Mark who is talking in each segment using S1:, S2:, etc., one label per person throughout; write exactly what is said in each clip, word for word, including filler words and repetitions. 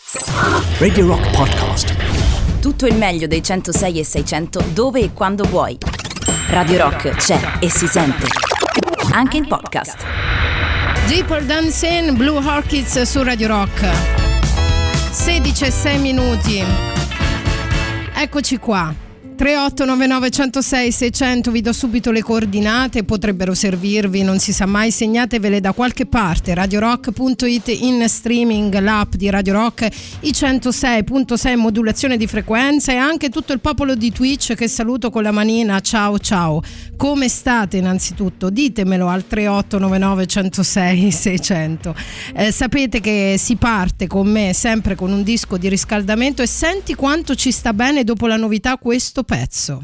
S1: Radio Rock Podcast.
S2: Tutto il meglio dei centosei e seicento dove e quando vuoi. Radio Rock c'è e si sente anche in podcast.
S3: Deeper Dancing, Blue Orchids su Radio Rock. sedici e sei minuti. Eccoci qua. tre otto nove nove uno zero sei sei zero zero, vi do subito le coordinate, potrebbero servirvi, non si sa mai, segnatevele da qualche parte. radiorock punto it in streaming, l'app di Radio Rock, i centosei virgola sei modulazione di frequenza, e anche tutto il popolo di Twitch che saluto con la manina. Ciao ciao, come state innanzitutto? Ditemelo al tre otto nove nove uno zero sei sei zero zero. Eh, sapete che si parte con me sempre con un disco di riscaldamento, e senti quanto ci sta bene dopo la novità questo pezzo.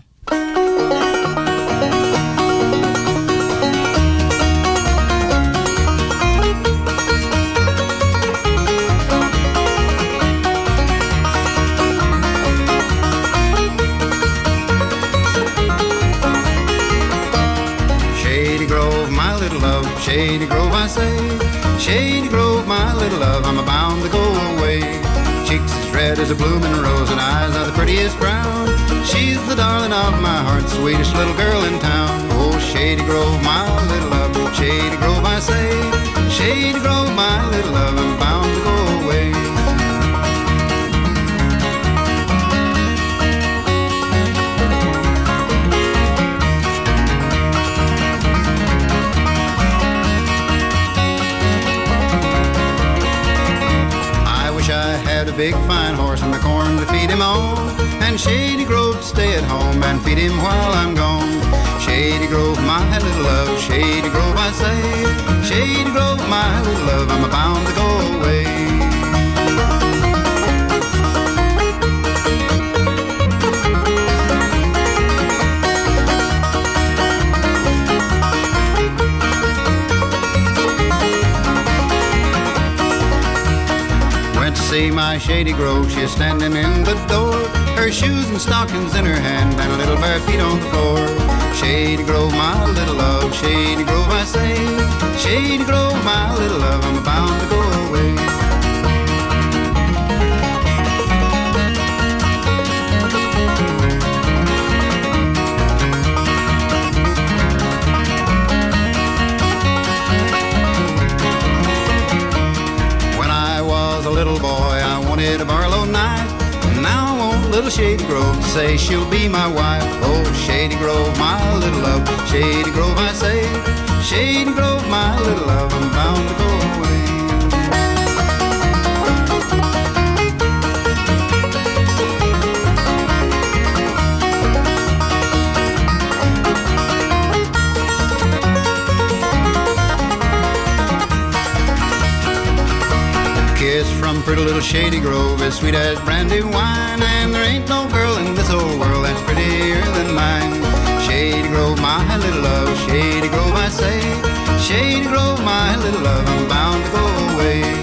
S4: Shady Grove, my little love, Shady Grove I say, Shady Grove, my little love, I'm bound to go away. Cheeks as red as a blooming rose and eyes are the prettiest brown. She's the darling of my heart, sweetest little girl in town. Oh, Shady Grove, my little love, Shady Grove I say, Shady Grove, my little love, I'm bound to go away. I had a big fine horse and the corn to feed him on, and Shady Grove to stay at home and feed him while I'm gone. Shady Grove, my little love, Shady Grove I say, Shady Grove, my little love, I'm bound to go away. See my Shady Grove, she's standing in the door, her shoes and stockings in her hand and little bare feet on the floor. Shady Grove, my little love, Shady Grove I say, Shady Grove, my little love, I'm bound to go away. Little boy, I wanted a Barlow knife, and now I want little Shady Grove to say she'll be my wife. Oh, Shady Grove, my little love, Shady Grove I say, Shady Grove, my little love, I'm bound to go away. Kiss from pretty little Shady Grove as sweet as brandy wine, and there ain't no girl in this old world that's prettier than mine. Shady Grove, my little love, Shady Grove I say, Shady Grove, my little love, I'm bound to go away.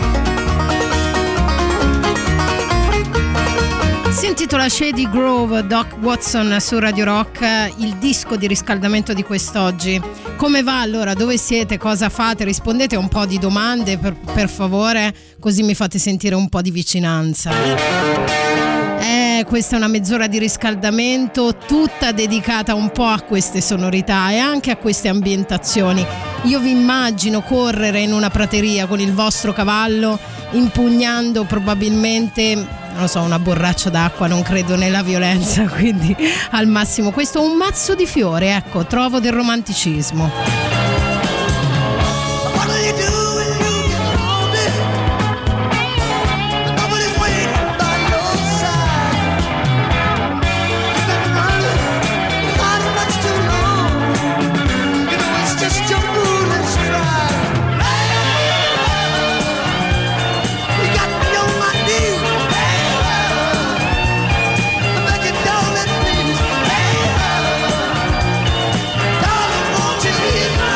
S3: Si intitola Shady Grove, Doc Watson su Radio Rock, il disco di riscaldamento di quest'oggi. Come va allora? Dove siete? Cosa fate? Rispondete a un po' di domande per, per favore, così mi fate sentire un po' di vicinanza. Eh, questa è una mezz'ora di riscaldamento tutta dedicata un po' a queste sonorità e anche a queste ambientazioni. Io vi immagino correre in una prateria con il vostro cavallo, impugnando probabilmente, non lo so, una borraccia d'acqua, non credo nella violenza, quindi al massimo questo è un mazzo di fiori, ecco, trovo del romanticismo.
S5: Darling, won't you hear?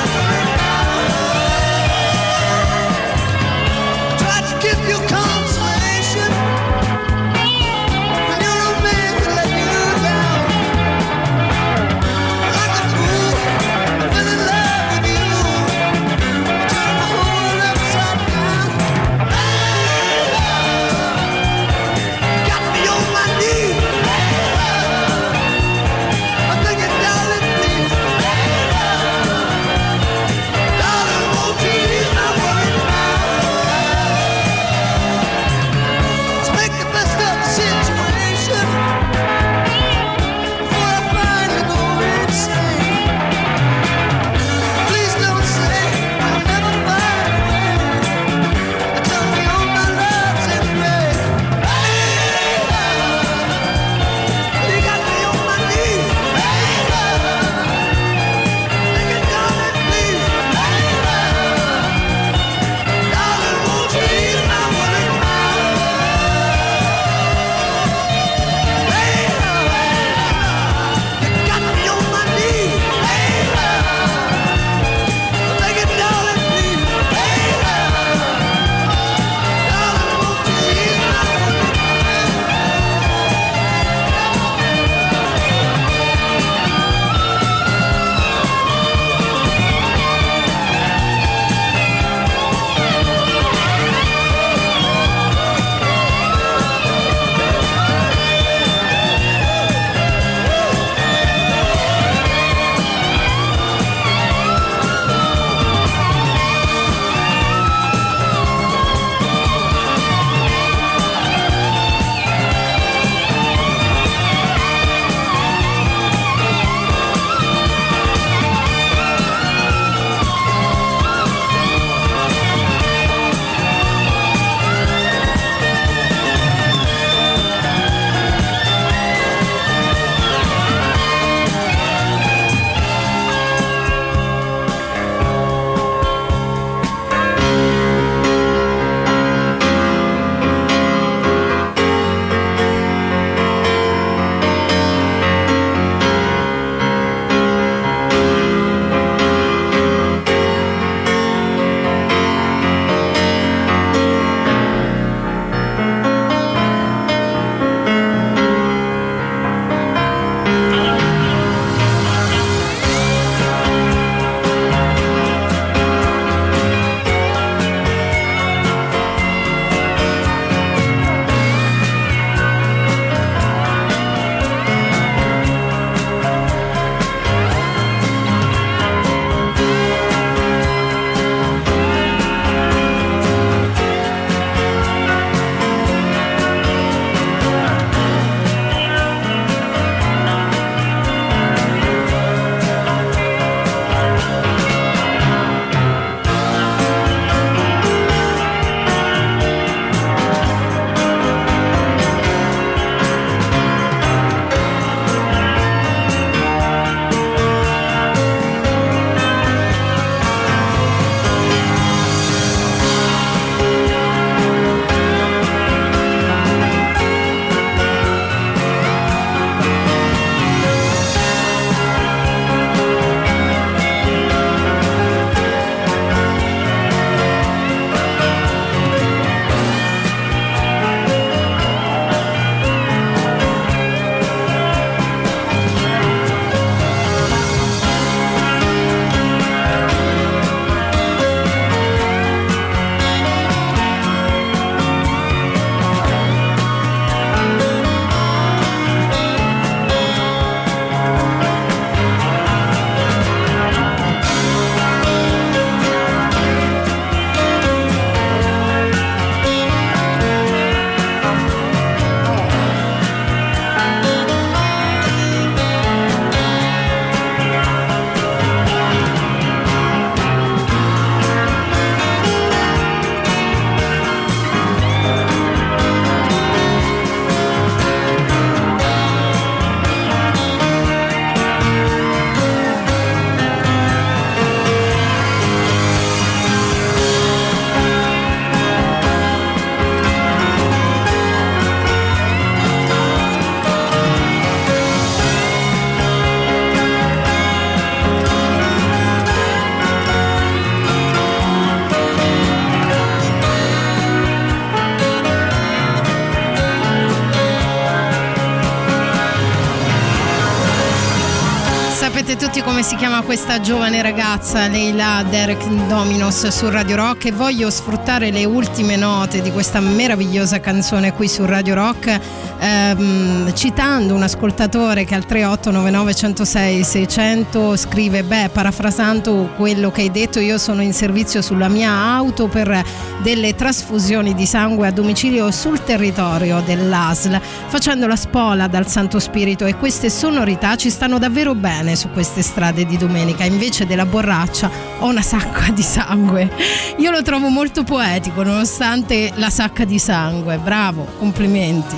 S3: sapete tutti come si chiama questa giovane ragazza, Leila Derek Dominos, su Radio Rock, e voglio sfruttare le ultime note di questa meravigliosa canzone qui su Radio Rock, ehm, citando un ascoltatore che al tre otto nove nove uno zero sei sei zero zero scrive: beh, parafrasando quello che hai detto, io sono in servizio sulla mia auto per delle trasfusioni di sangue a domicilio sul territorio dell'A S L, facendo la spola dal Santo Spirito, e queste sonorità ci stanno davvero bene su queste strade di domenica. Invece della borraccia ho una sacca di sangue. Io lo trovo molto poetico nonostante la sacca di sangue. Bravo, complimenti.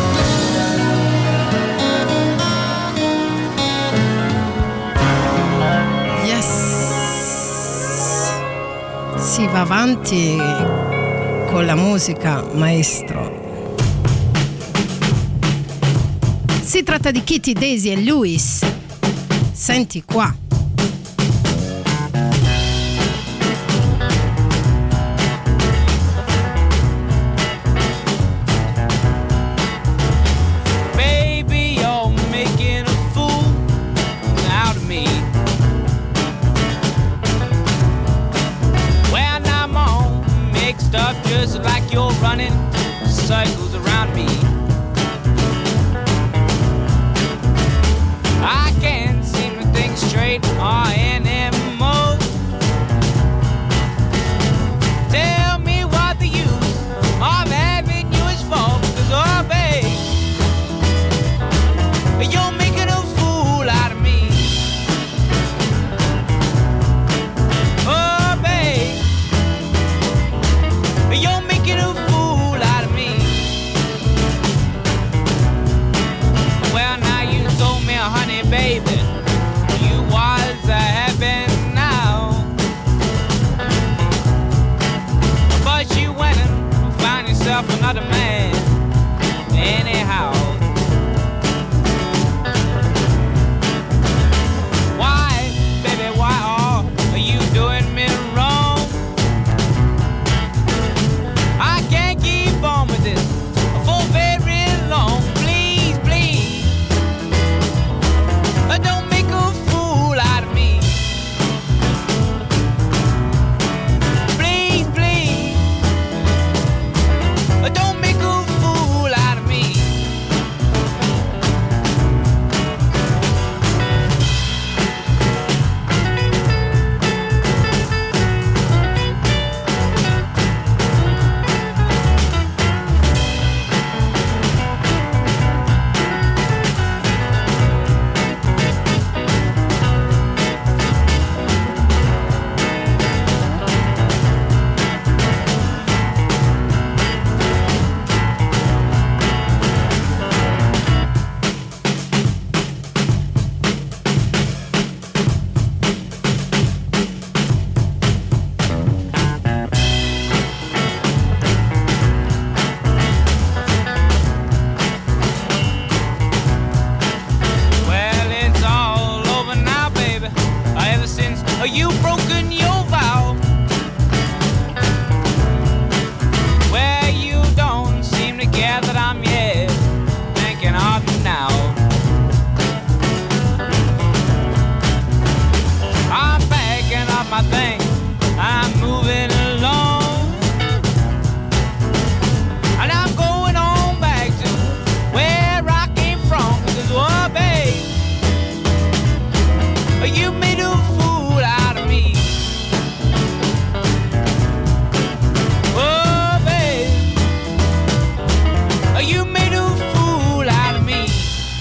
S3: Si va avanti con la musica, maestro. Si tratta di Kitty, Daisy e Lewis. Senti qua.
S5: Baby, you're making a fool out of me. Mixed up just like you're running cycles around me. I can't seem to think straight or anymore. Tell me what the use of having you is for, because oh babe, you're making a fool out of me. Oh babe, you're making a fool out of me. Well, now you told me, honey, baby, you was a heaven now. But you went and found yourself another man anyhow. Why, baby, why are you doing me wrong? I can't keep on with this for very long. Please, please, don't make a fool out of me. Please, please, don't make a fool out of me. Well, it's all over now, baby. Ever since you broken your vow, well, you don't seem to care that I'm yet thinking of you now. I'm packing up my things, I'm moving along, and I'm going on back to where I came from. Because, oh, babe, you made a fool out of me. Oh, babe, you made a fool out of me.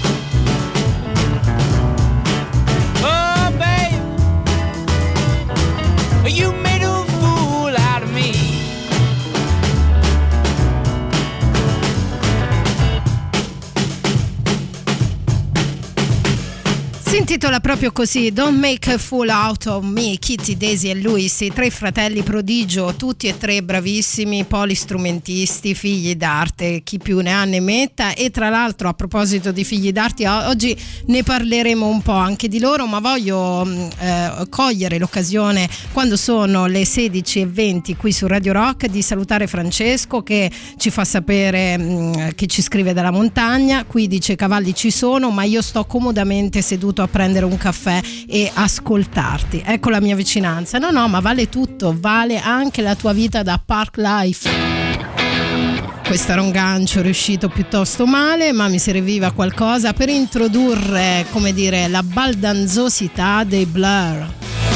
S5: Oh, babe, you made a fool out of me.
S3: Si intitola proprio così, Don't Make a Fool Out of Me. Kitty, Daisy e Lewis, i tre fratelli prodigio, tutti e tre bravissimi, polistrumentisti, figli d'arte, chi più ne ha ne metta. E tra l'altro, a proposito di figli d'arte, oggi ne parleremo un po' anche di loro, ma voglio eh, cogliere l'occasione, quando sono le sedici e venti qui su Radio Rock, di salutare Francesco, che ci fa sapere, mh, che ci scrive dalla montagna. Qui dice: cavalli ci sono, ma io sto comodamente seduto a prendere un caffè e ascoltarti. Ecco la mia vicinanza. No, no, ma vale tutto, vale anche la tua vita da Park Life. Questo era un gancio riuscito piuttosto male, ma mi serviva qualcosa per introdurre, come dire, la baldanzosità dei Blur.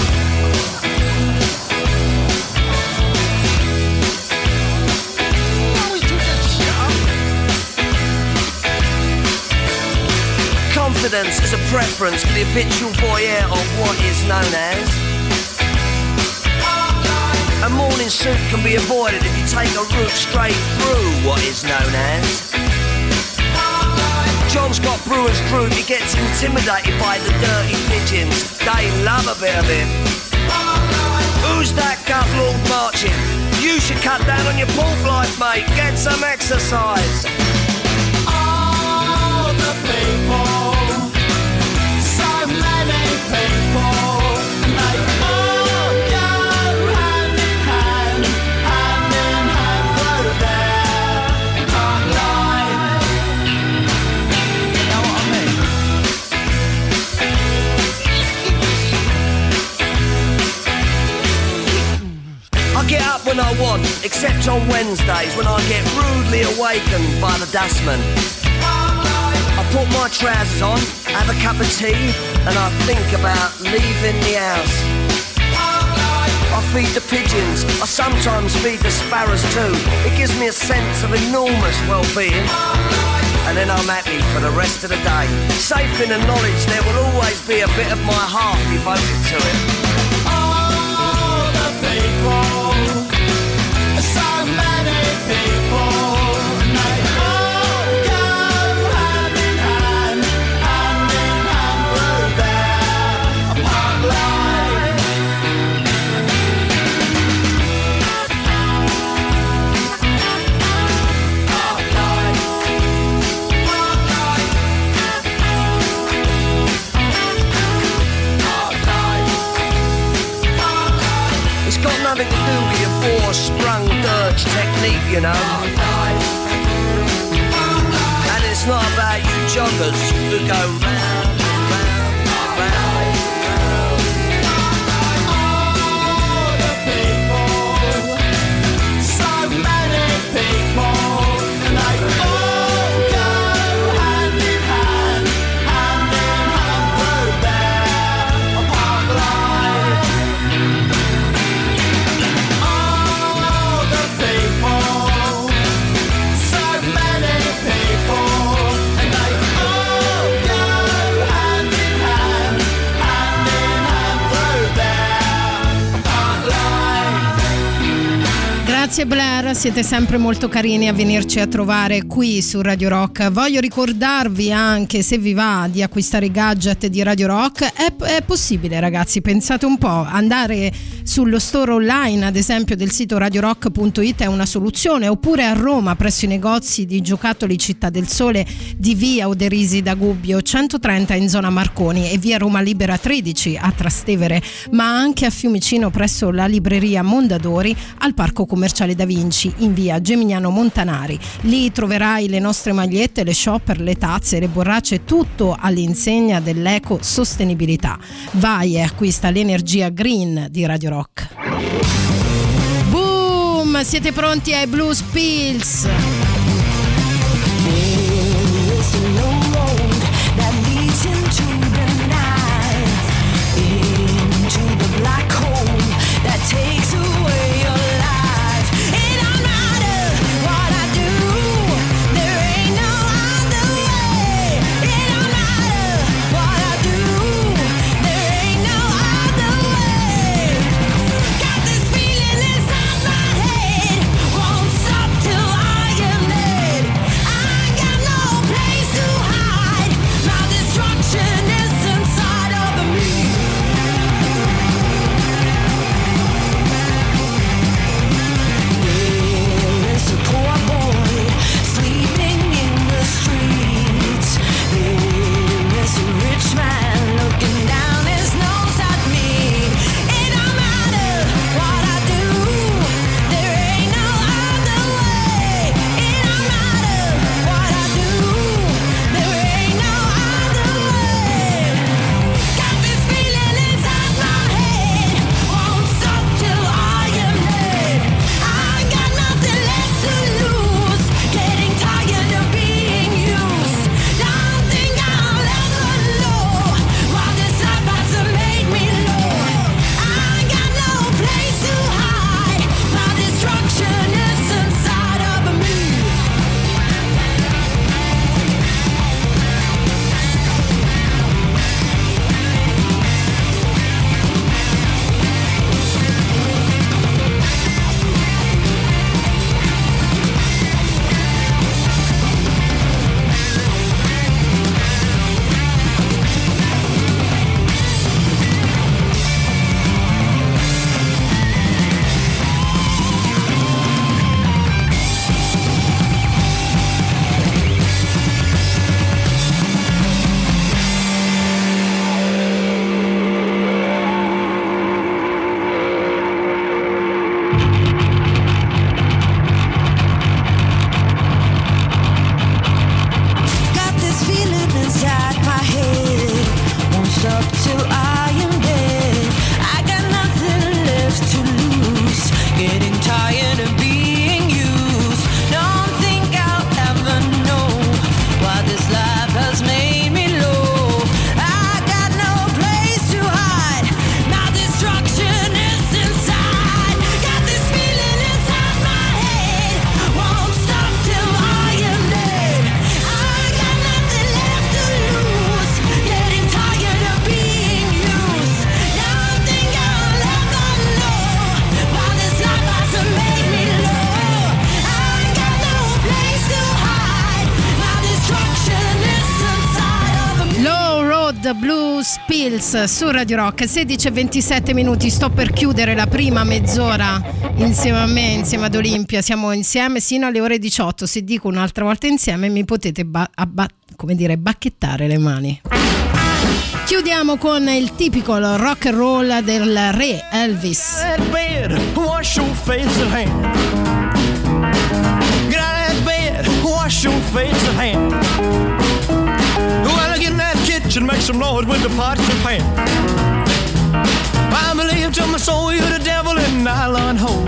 S6: Confidence is a preference for the habitual voyeur of what is known as. A morning suit can be avoided if you take a route straight through what is known as. John's got brewer's crude, he gets intimidated by the dirty pigeons. They love a bit of him. Who's that gut lord marching? You should cut down on your pork life, mate. Get some exercise.
S7: All the people, so many people, and they all go hand in hand, hand in hand through their hard life. You know what I mean?
S6: I get up when I want, except on Wednesdays when I get rudely awakened by the dustman. I put my trousers on, have a cup of tea, and I think about leaving the house. I feed the pigeons, I sometimes feed the sparrows too. It gives me a sense of enormous well-being. And then I'm happy for the rest of the day, safe in the knowledge there will always be a bit of my heart devoted to it.
S7: All the people, so many people, and they all go hand in hand, hand in hand through their park life. Park life. Park life. Park life. Park life.
S6: It's got nothing to do with your four-sprung dirge technique, you know. And it's not about you joggers who go round, round, round, round.
S7: All the people, so many people, and they all go hand in hand, hand in hand through their park life. All the people, so many people, and they all go hand in hand, hand in hand through their park life.
S3: Grazie Blair, siete sempre molto carini a venirci a trovare qui su Radio Rock. Voglio ricordarvi anche, se vi va, di acquistare i gadget di Radio Rock. È, è possibile, ragazzi, pensate un po', andare sullo store online, ad esempio del sito radio rock punto it, è una soluzione, oppure a Roma presso i negozi di giocattoli Città del Sole di via Oderisi da Gubbio centotrenta in zona Marconi e via Roma Libera tredici a Trastevere, ma anche a Fiumicino presso la libreria Mondadori, al Parco Commerciale Da Vinci in via Gemignano Montanari. Lì troverai le nostre magliette, le shopper, le tazze, le borracce, tutto all'insegna dell'eco sostenibilità. Vai e acquista l'energia green di Radio Rock. Boom! Siete pronti ai Blues Pills?
S8: Takes away your life. It don't matter what I do, there ain't no other way. It don't matter what I do, there ain't no other way. Got this feeling inside my head, won't stop till I am
S3: Blues Pills su Radio Rock. Sedici e ventisette minuti, sto per chiudere la prima mezz'ora insieme a me, insieme ad Olimpia. Siamo insieme sino alle ore diciotto. Se dico un'altra volta insieme mi potete ba- abba- come dire, bacchettare le mani. Chiudiamo con il tipico rock and roll del re Elvis.
S7: Bed, wash your face and hand. Get out of that bed, wash your face and hand. Well, get in that kitchen, make some noise with the pots and pan. I believe to my soul you're the devil in nylon hole.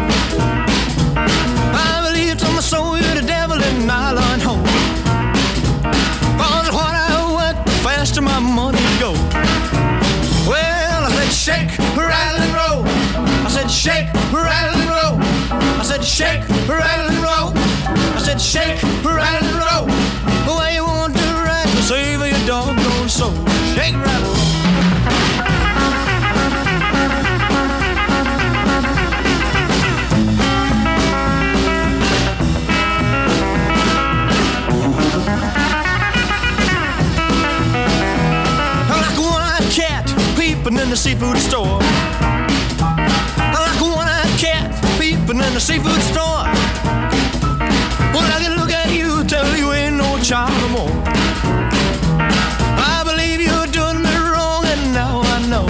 S7: I believe to my soul you're the devil in nylon hole. Cause what I work, the faster my money goes. Well, I said shake, rattle and roll. I said shake, rattle and roll. I said shake, rattle and roll. I said shake, rattle and roll. The way you want to ride to save your doggone soul. Shake, rattle, roll. Like a one-eyed cat peeping in the seafood store. Like a one-eyed cat peeping in the seafood store. Well, I can look at you, tell you ain't no child no more. I believe you're doing me wrong, and now I know.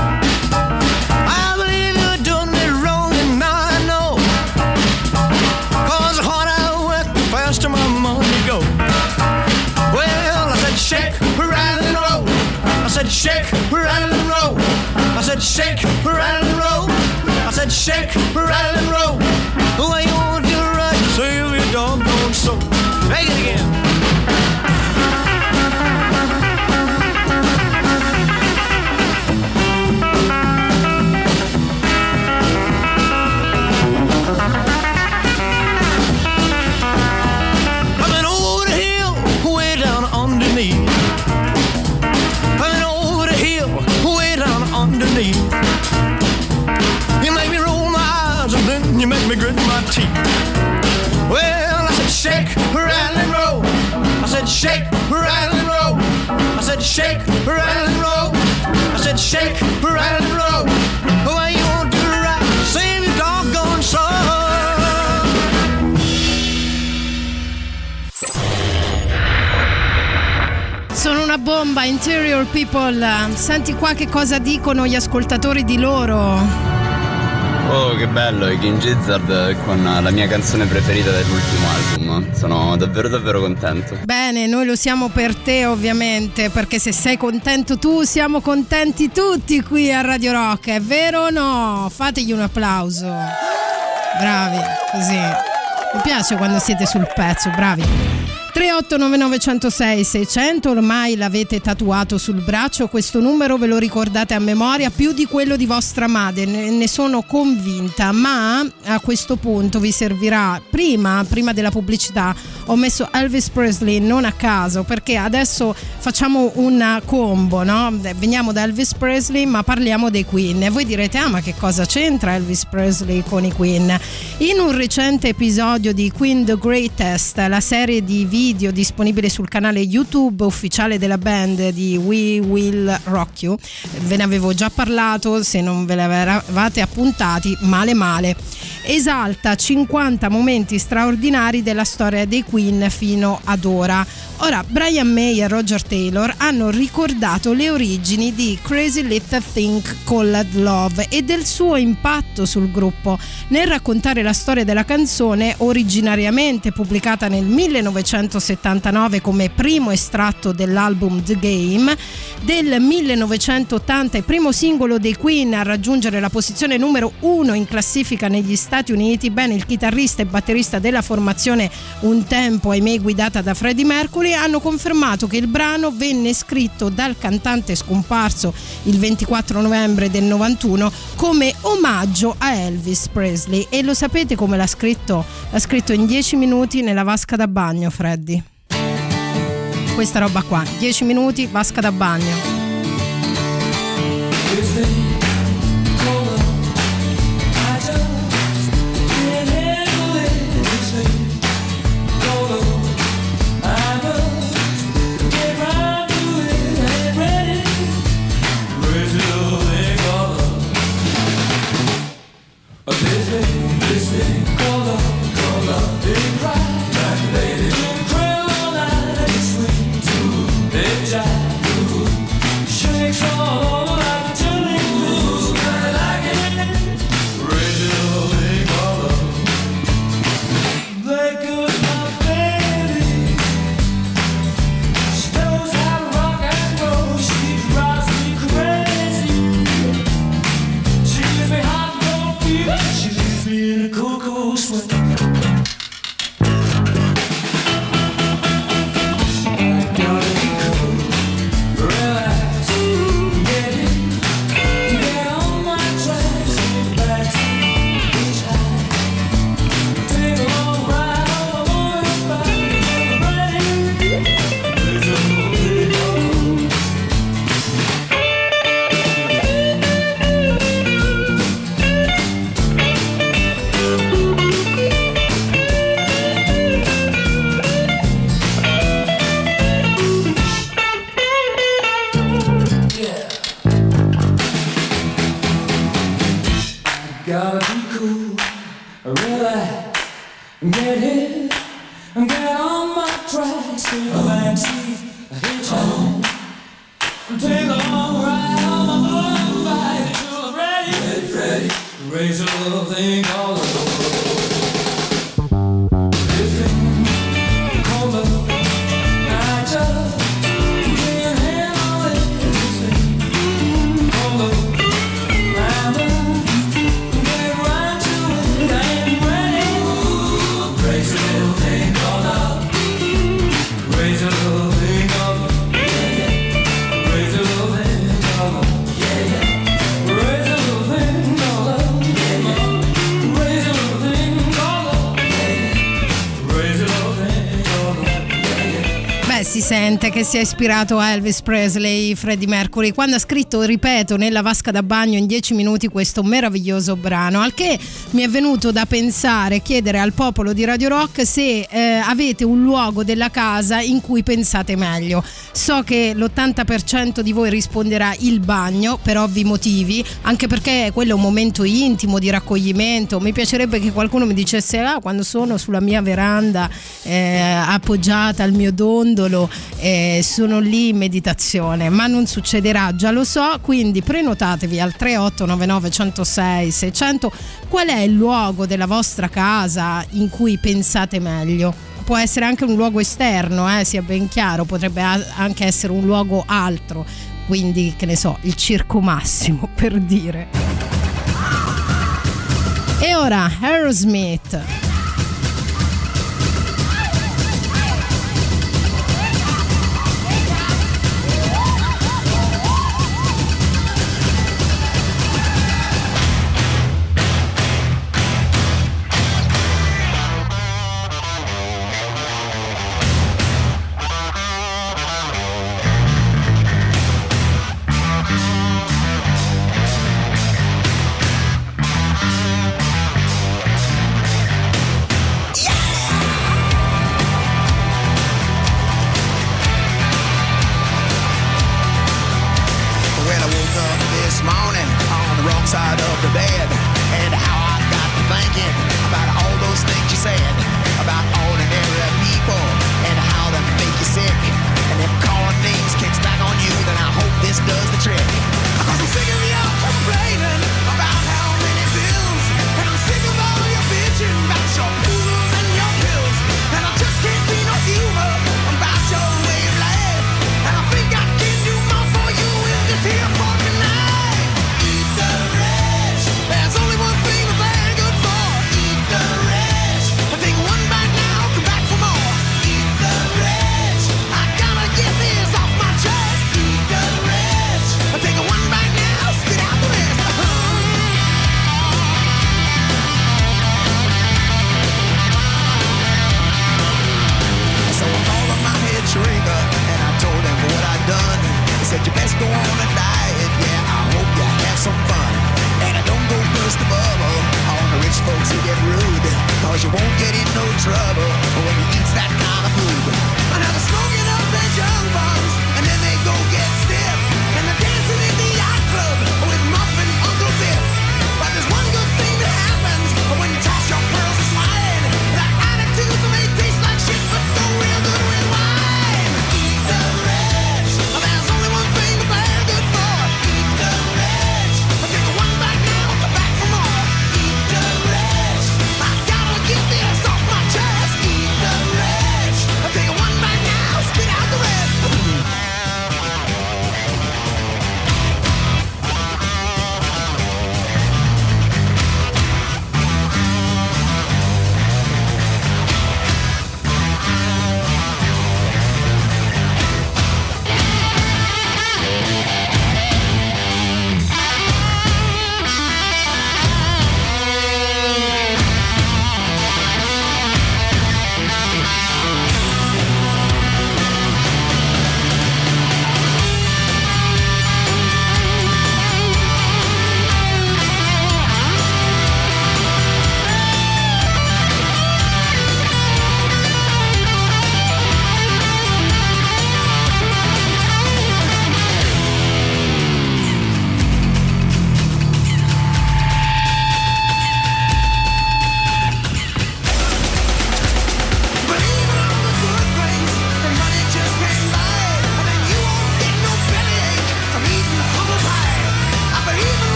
S7: I believe you're doing me wrong, and now I know. Cause the harder I work, the faster my money go. Well, I said shake, rattle and roll. I said shake, rattle and roll. I said shake, rattle and roll. I said shake, rattle and roll. The way you want to ride, save your doggone soul. Take it again. I've been over the hill, way down underneath. I've been over the hill, way down underneath. You make me roll my eyes and then you make me grit my teeth. Well, I said shake, rattle and roll. I said shake, rattle and roll. I said shake, rattle and roll. I said shake, rattle and roll. The way you want to ride, save your doggone soul.
S3: Sono una bomba, Interior People. Senti qua che cosa dicono gli ascoltatori di loro.
S9: Oh, che bello, i King Gizzard con la mia canzone preferita dell'ultimo album. Sono davvero davvero contento.
S3: Bene, noi lo siamo per te ovviamente, perché se sei contento tu siamo contenti tutti qui a Radio Rock, è vero o no? Fategli un applauso. Bravi, così. Mi piace quando siete sul pezzo, bravi. tre otto nove nove zero zero sei sei zero zero, ormai l'avete tatuato sul braccio, questo numero ve lo ricordate a memoria più di quello di vostra madre, ne sono convinta, ma a questo punto vi servirà, prima, prima della pubblicità ho messo Elvis Presley non a caso, perché adesso facciamo una combo, no? Veniamo da Elvis Presley ma parliamo dei Queen e voi direte ah ma che cosa c'entra Elvis Presley con i Queen? In un recente episodio di Queen The Greatest, la serie di video video disponibile sul canale YouTube ufficiale della band di We Will Rock You, ve ne avevo già parlato, se non ve l'avevate appuntati male male, esalta cinquanta momenti straordinari della storia dei Queen fino ad ora. Ora Brian May e Roger Taylor hanno ricordato le origini di Crazy Little Thing Called Love e del suo impatto sul gruppo nel raccontare la storia della canzone, originariamente pubblicata nel millenovecentosettantanove come primo estratto dell'album The Game. Del millenovecentottanta, il primo singolo dei Queen a raggiungere la posizione numero uno in classifica negli Stati Uniti. Bene, il chitarrista e batterista della formazione, un tempo ahimè guidata da Freddie Mercury, hanno confermato che il brano venne scritto dal cantante scomparso il ventiquattro novembre del novantuno come omaggio a Elvis Presley. E lo sapete come l'ha scritto? L'ha scritto in dieci minuti nella vasca da bagno, Freddy. Questa roba qua, dieci minuti, vasca da bagno.
S8: I must get round to it and ready.
S7: in the backseat, hitchhike. Take a long ride on my motorbike till I'm ready. Ready, ready. Raise a little thing called love. This thing called love. I just can't handle it. This thing called love. I'm get right to it. I ain't ready. Raise a little thing called love. Raise a little thing called love. Raise a little thing called love. Yeah, yeah. Raise a little thing called love. Yeah, yeah. Raise a little thing called love. Yeah, yeah. Raise a little thing called love. Yeah, yeah.
S3: Beh, si sente che si è ispirato a Elvis Presley, Freddie Mercury, quando ha scritto, ripeto, nella vasca da bagno in dieci minuti questo meraviglioso brano, al che mi è venuto da pensare, chiedere al popolo di Radio Rock se eh, avete un luogo della casa in cui pensate meglio. So che l'ottanta per cento di voi risponderà il bagno, per ovvi motivi, anche perché quello è un momento intimo di raccoglimento. Mi piacerebbe che qualcuno mi dicesse: ah, quando sono sulla mia veranda eh, appoggiata al mio dondolo, eh, sono lì in meditazione, ma non succederà, già lo so, quindi prenotatevi al tre otto nove nove uno zero sei sei zero zero. Qual è il luogo della vostra casa in cui pensate meglio? Può essere anche un luogo esterno, eh, sia ben chiaro, potrebbe anche essere un luogo altro, quindi che ne so, il Circo Massimo, per dire. E ora Aerosmith.
S10: When I woke up this morning on the wrong side of the bed, and how I got to thinking about all those things you said about ordinary people and how they make you sick. And if calling names kicks back on you, then I hope this does the trick. Cause I'm sick of you complaining about how many bills, and I'm sick of all your bitching about your poodles and your pills, and I just can't see no humor about your way of life. And I think I can do more for you in this here fucking life. Eat the rich. There's only one thing that they're good for. Eat the rich. I think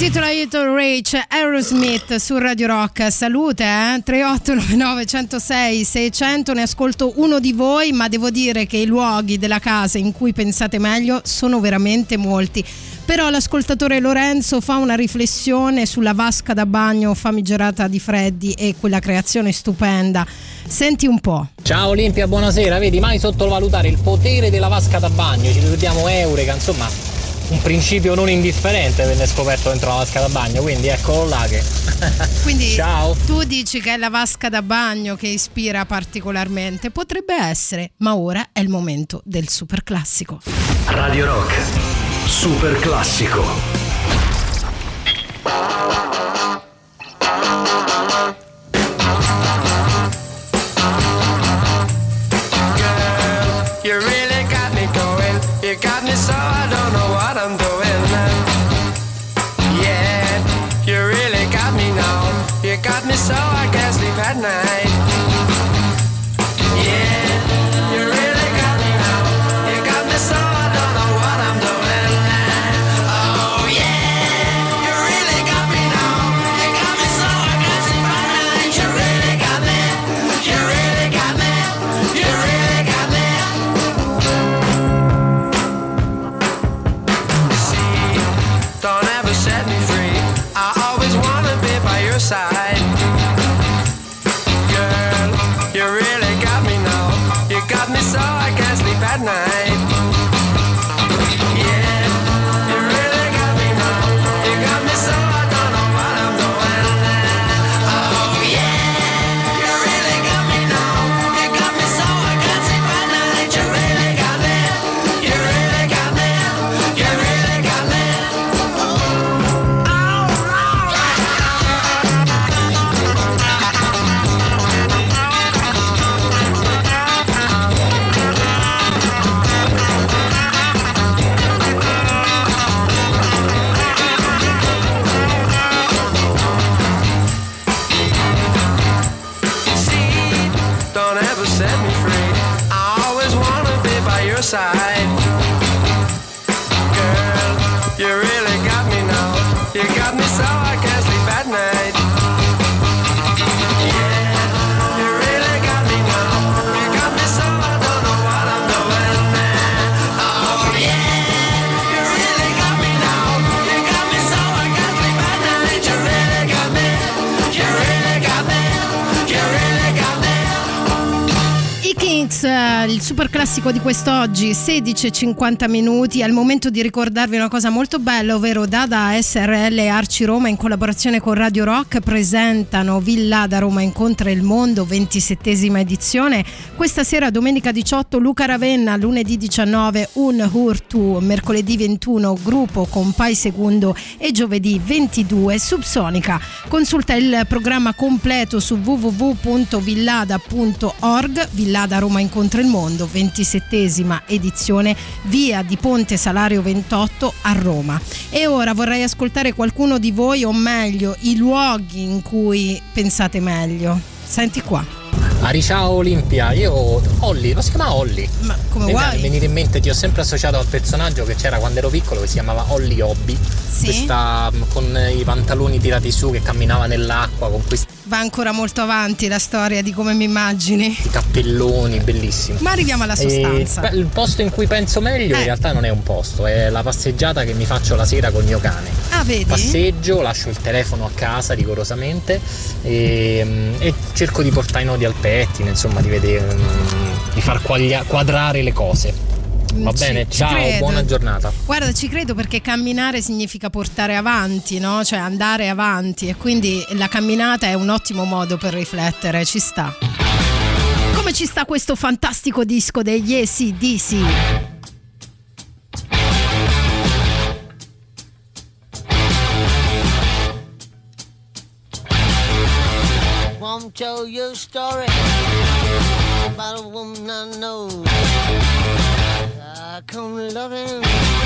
S3: intitola Little Rich, Aerosmith su Radio Rock. Salute, eh? tre otto nove nove uno zero sei sei zero zero. Ne ascolto uno di voi, ma devo dire che i luoghi della casa in cui pensate meglio sono veramente molti. Però l'ascoltatore Lorenzo fa una riflessione sulla vasca da bagno famigerata di Freddy e quella creazione stupenda. Senti un po'.
S11: Ciao Olimpia, buonasera. Vedi, mai sottovalutare il potere della vasca da bagno. Ci ricordiamo Eureka, insomma, un principio non indifferente venne scoperto dentro la vasca da bagno, quindi eccolo là che...
S3: Quindi
S11: ciao.
S3: Tu dici che è la vasca da bagno che ispira particolarmente. Potrebbe essere, ma ora è il momento del super classico.
S1: Radio Rock, super classico.
S7: You really got me going. You got me so I don't know what I'm doing. Yeah, you really got me now. You got me so I can't sleep at night. Yeah, you really got me now. You got me so I don't know what I'm doing. Oh yeah, you really got me now. You got me so I can't sleep at night. You really got me. You really got me. You really got me. Don't ever set me free. I always wanna be by your side. Girl, you really got me now. You got me so I can't sleep at night. Yeah, you really got me now. You got me so I don't know what I'm doing. Oh yeah, you really got me now. You got me so I can't sleep at night. You really got me. You really got me. You really got me. Don't ever set me free. I always wanna be by your side. Girl, you really got me now. You got me so I can't sleep at night. Yeah, you really got me now. You got me so I don't know what I'm doing. Oh yeah, you really got me now. You got me so I can't sleep at night. You really got me. You really got me. You really got me.
S3: I Kings, eh, il super classico di quest'oggi, sedici e cinquanta minuti. È il momento di ricordarvi una cosa molto bella, ovvero Dada S R L e Arci Roma in collaborazione con Radio Rock presentano Villada Roma incontra il mondo, ventisettesima edizione. Questa sera domenica diciotto Luca Ravenna, lunedì diciannove Un Hurtu, mercoledì ventuno Gruppo con Pai Segundo e giovedì ventidue Subsonica. Consulta il programma completo su w w w punto villada punto org. Villada Roma incontra il mondo, ventisettesima edizione, via di Ponte Salario ventotto a Roma. E ora vorrei ascoltare qualcuno di voi, o meglio i luoghi in cui pensate meglio. Senti qua.
S11: Ari, ciao Olimpia, io Olli, lo si chiama Olli?
S3: Ma come
S11: Mi
S3: vuoi?
S11: venire in mente, ti ho sempre associato al personaggio che c'era quando ero piccolo che si chiamava Olli Hobby.
S3: Sì?
S11: Questa con i pantaloni tirati su che camminava nell'acqua con questi
S3: Va ancora molto avanti la storia di come mi immagini.
S11: cappelloni, bellissimo.
S3: Ma arriviamo alla sostanza.
S11: E, beh, il posto in cui penso meglio
S3: Eh.
S11: in realtà non è un posto, è la passeggiata che mi faccio la sera col mio cane.
S3: Ah, vedi?
S11: Passeggio, lascio il telefono a casa rigorosamente e, e cerco di portare i nodi al pettine, insomma di vedere, di far quaglia- quadrare le cose. Va
S3: Ci-
S11: bene,
S3: ci
S11: ciao,
S3: credo.
S11: buona giornata.
S3: Guarda, ci credo, perché camminare significa portare avanti, no? Cioè andare avanti, e quindi la camminata è un ottimo modo per riflettere, ci sta. Come ci sta questo fantastico disco degli A C D C?
S12: Won't tell you a story about a woman I know. I come loving,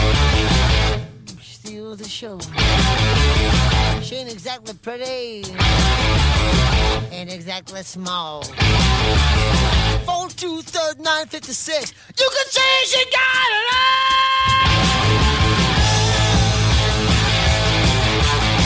S12: steal the show. She ain't exactly pretty, ain't exactly small. Four two third nine fifty six. You can say she got it all.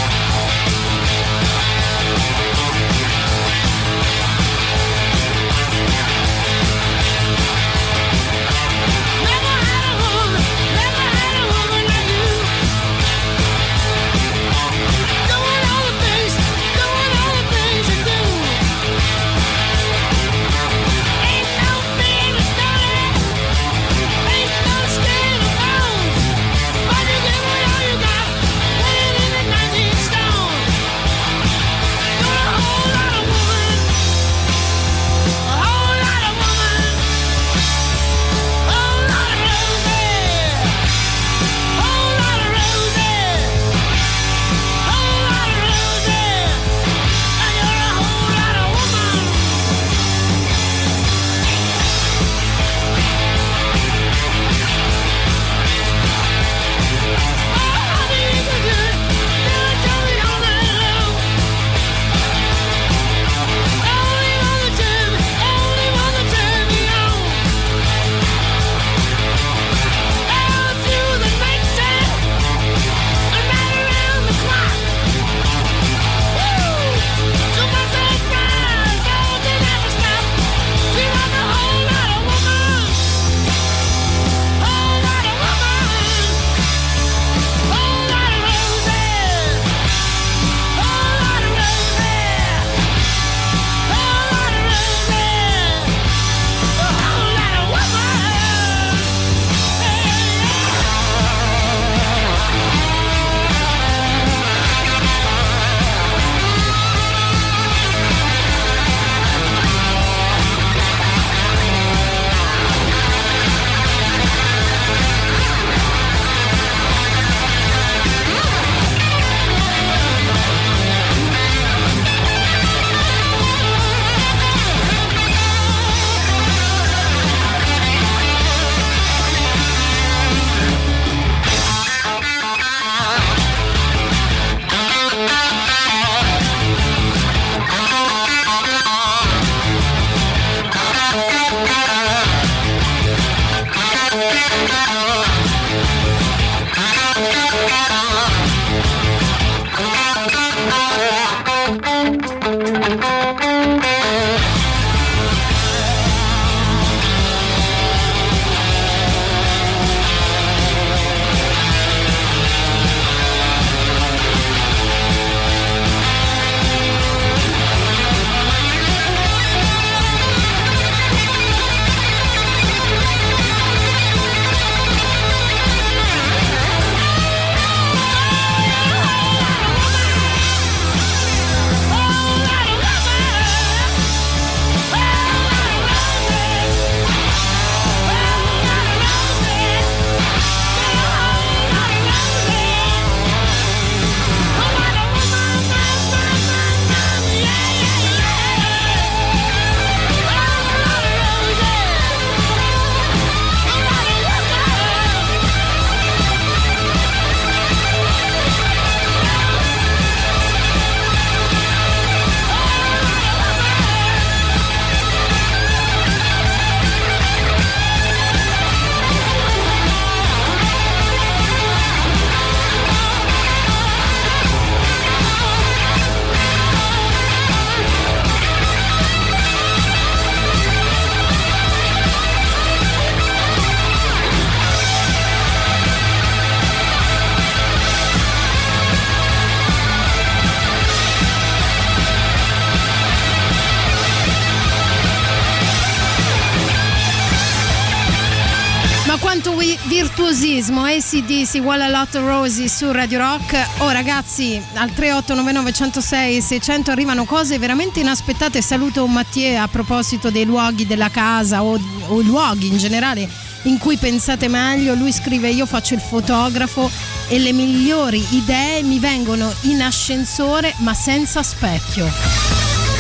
S3: virtuosismo, A C D C, What a Lot of Roses su Radio Rock. Oh ragazzi, al tre otto nove nove uno zero sei sei zero zero arrivano cose veramente inaspettate. Saluto Mattia a proposito dei luoghi della casa o, o luoghi in generale in cui pensate meglio. Lui scrive: io faccio il fotografo e le migliori idee mi vengono in ascensore ma senza specchio.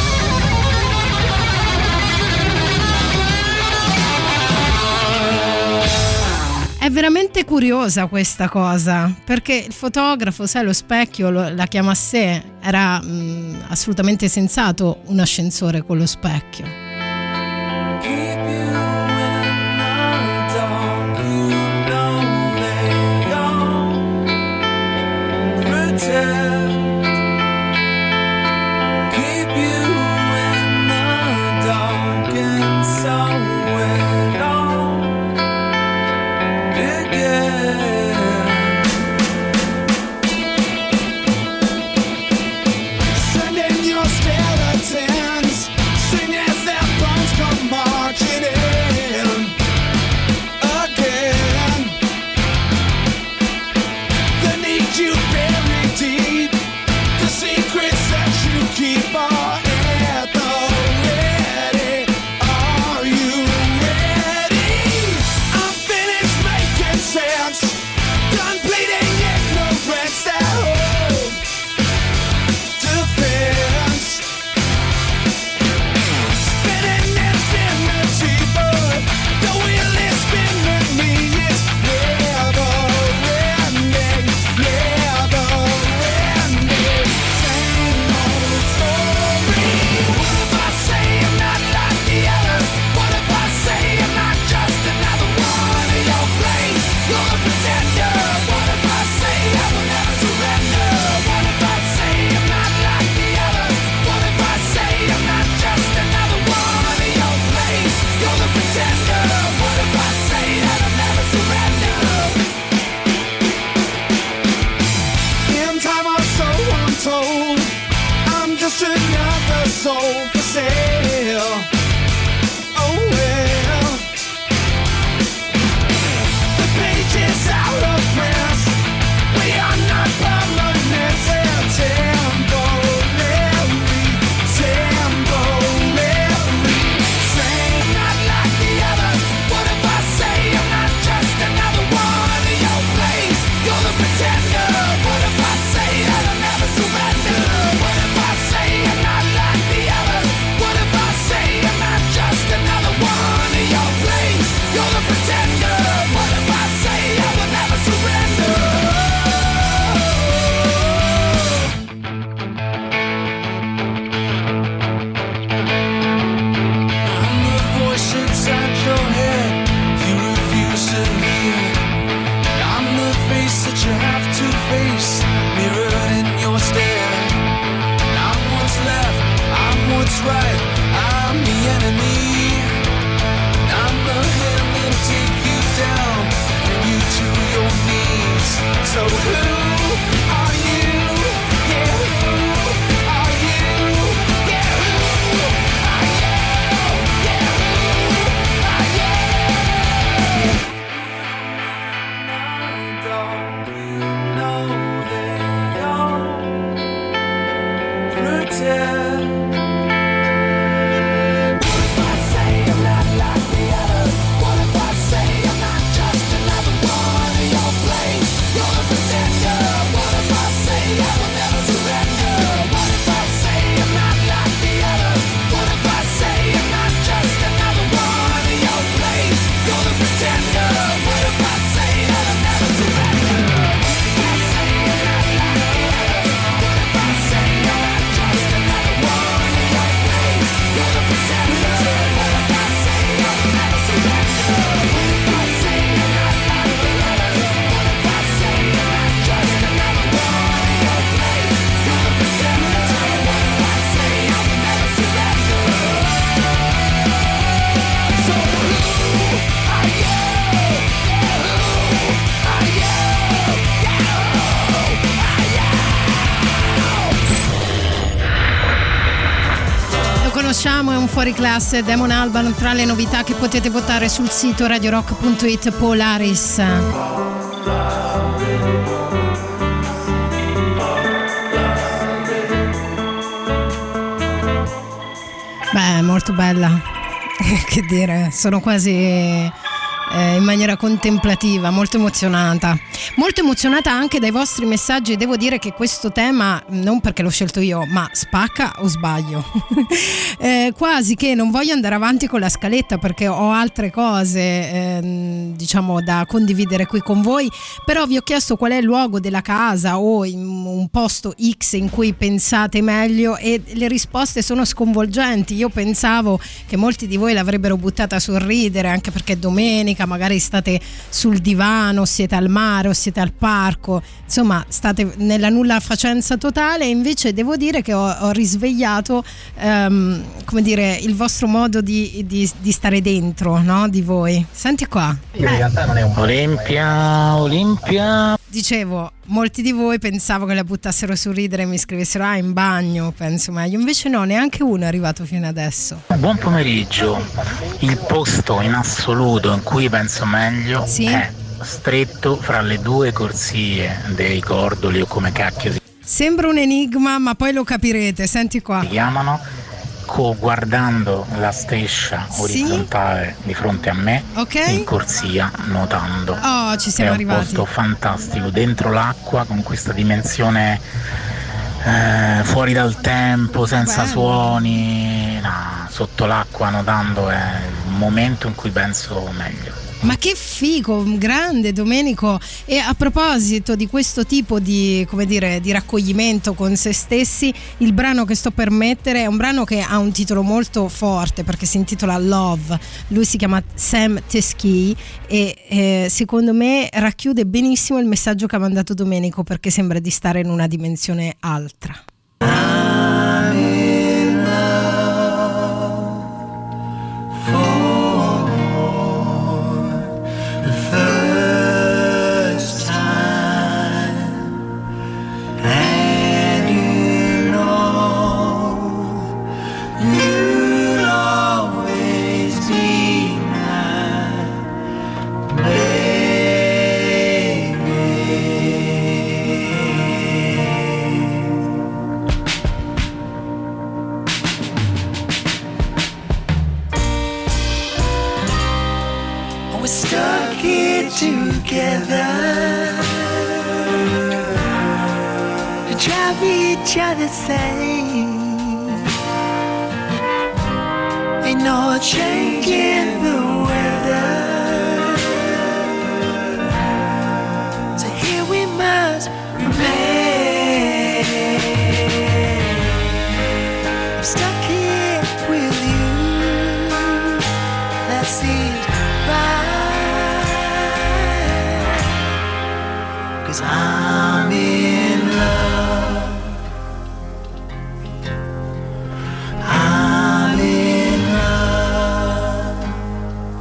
S3: È veramente curiosa questa cosa, perché il fotografo, sai, lo specchio lo, la chiama a sé, era mh, assolutamente sensato un ascensore con lo specchio. conosciamo, è un fuoriclasse, Damon Albarn, tra le novità che potete votare sul sito radiorock punto it. Polaris. Beh, molto bella. Che dire, sono quasi eh, in maniera contemplativa, molto emozionata. Molto emozionata anche dai vostri messaggi. Devo dire che questo tema, non perché l'ho scelto io, ma spacca o sbaglio? eh, quasi che non voglio andare avanti con la scaletta perché ho altre cose eh, diciamo da condividere qui con voi, però vi ho chiesto qual è il luogo della casa o in un posto X in cui pensate meglio e le risposte sono sconvolgenti. Io pensavo che molti di voi l'avrebbero buttata a sorridere, anche perché è domenica, magari state sul divano, siete al mare o siete al parco, insomma state nella nulla facenza totale, e invece devo dire che ho, ho risvegliato um, come dire il vostro modo di, di, di stare dentro, no? Di voi. Senti qua.
S13: Olimpia, Olimpia.
S3: Dicevo, molti di voi pensavo che la buttassero su ridere e mi scrivessero ah in bagno, penso meglio, invece no, neanche uno è arrivato fino adesso.
S13: Buon pomeriggio. Il posto in assoluto in cui penso meglio
S3: sì?
S13: è stretto fra le due corsie dei Cordoli o come cacchio si
S3: Sembra un enigma, ma poi lo capirete. Senti qua.
S13: Si chiamano, co- guardando la striscia
S3: sì?
S13: orizzontale di fronte a me,
S3: okay.
S13: in corsia, nuotando.
S3: Oh, ci siamo
S13: è
S3: arrivati.
S13: È un posto fantastico, dentro l'acqua, con questa dimensione eh, fuori dal tempo, senza
S3: Bello.
S13: suoni. No, sotto l'acqua nuotando è il momento in cui penso meglio.
S3: Ma che figo, grande Domenico. E a proposito di questo tipo di, come dire, di raccoglimento con se stessi, il brano che sto per mettere è un brano che ha un titolo molto forte perché si intitola Love. Lui si chiama Sam Teskey e eh, secondo me racchiude benissimo il messaggio che ha mandato Domenico, perché sembra di stare in una dimensione altra.
S7: I'm in love for the first time, and you know you'll always be my we're stuck here together to drive each other insane. Ain't no change in the weather, so here we must remain. I'm stuck here with you, that seems right, 'cause I'm in love. I'm in love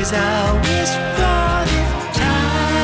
S7: 'cause I wish for this time.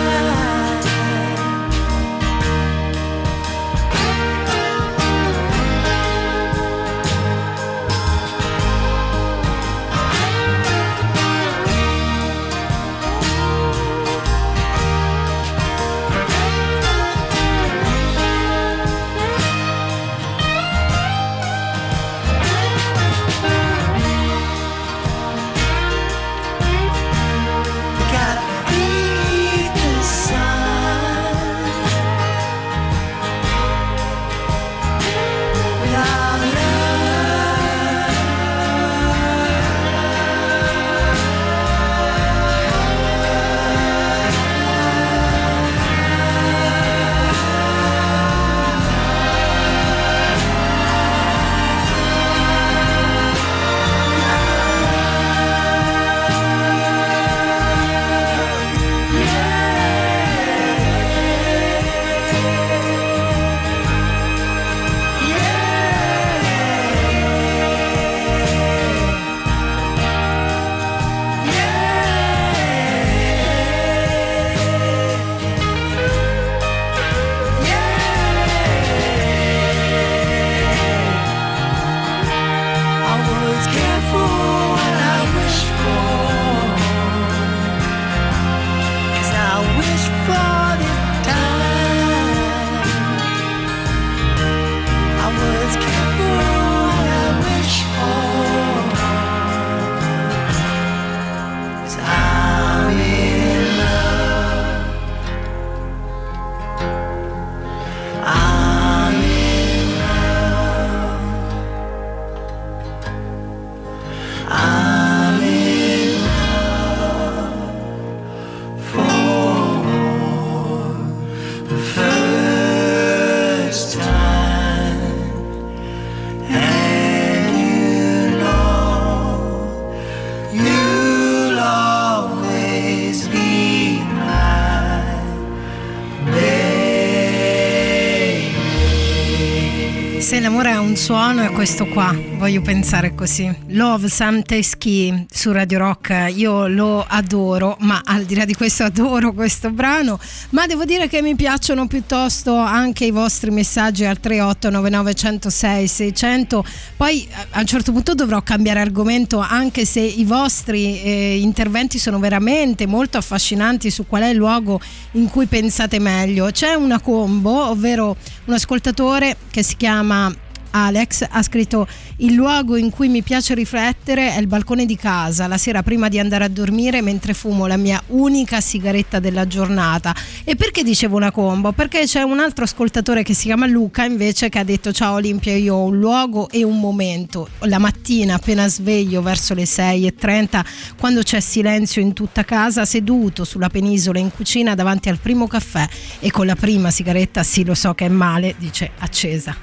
S3: Se l'amore ha un suono è questo qua, voglio pensare così. Love Sam Teskey su Radio Rock, io lo adoro, ma al di là di questo adoro questo brano, ma devo dire che mi piacciono piuttosto anche i vostri messaggi al tre otto nove nove uno zero sei sei zero zero. Poi a un certo punto dovrò cambiare argomento, anche se i vostri eh, interventi sono veramente molto affascinanti su qual è il luogo in cui pensate meglio. C'è una combo, ovvero un ascoltatore che si chiama Alex, ha scritto: il luogo in cui mi piace riflettere è il balcone di casa la sera prima di andare a dormire, mentre fumo la mia unica sigaretta della giornata. E perché dicevo una combo? Perché c'è un altro ascoltatore che si chiama Luca invece, che ha detto: ciao Olimpia, io ho un luogo e un momento la mattina appena sveglio verso le sei e trenta, quando c'è silenzio in tutta casa, seduto sulla penisola in cucina davanti al primo caffè e con la prima sigaretta, sì lo so che è male, dice, accesa.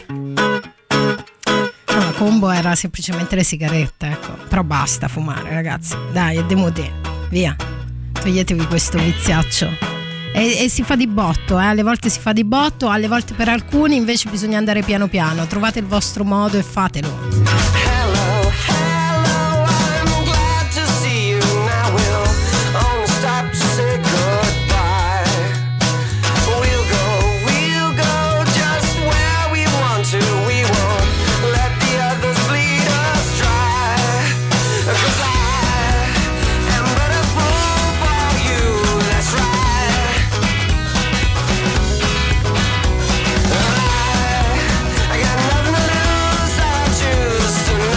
S3: No, la combo era semplicemente le sigarette, ecco. Però basta fumare, ragazzi, dai, è demodé, via, toglietevi questo viziaccio. E, e si fa di botto, eh? Alle volte si fa di botto, alle volte per alcuni invece bisogna andare piano piano. Trovate il vostro modo e fatelo.
S7: Just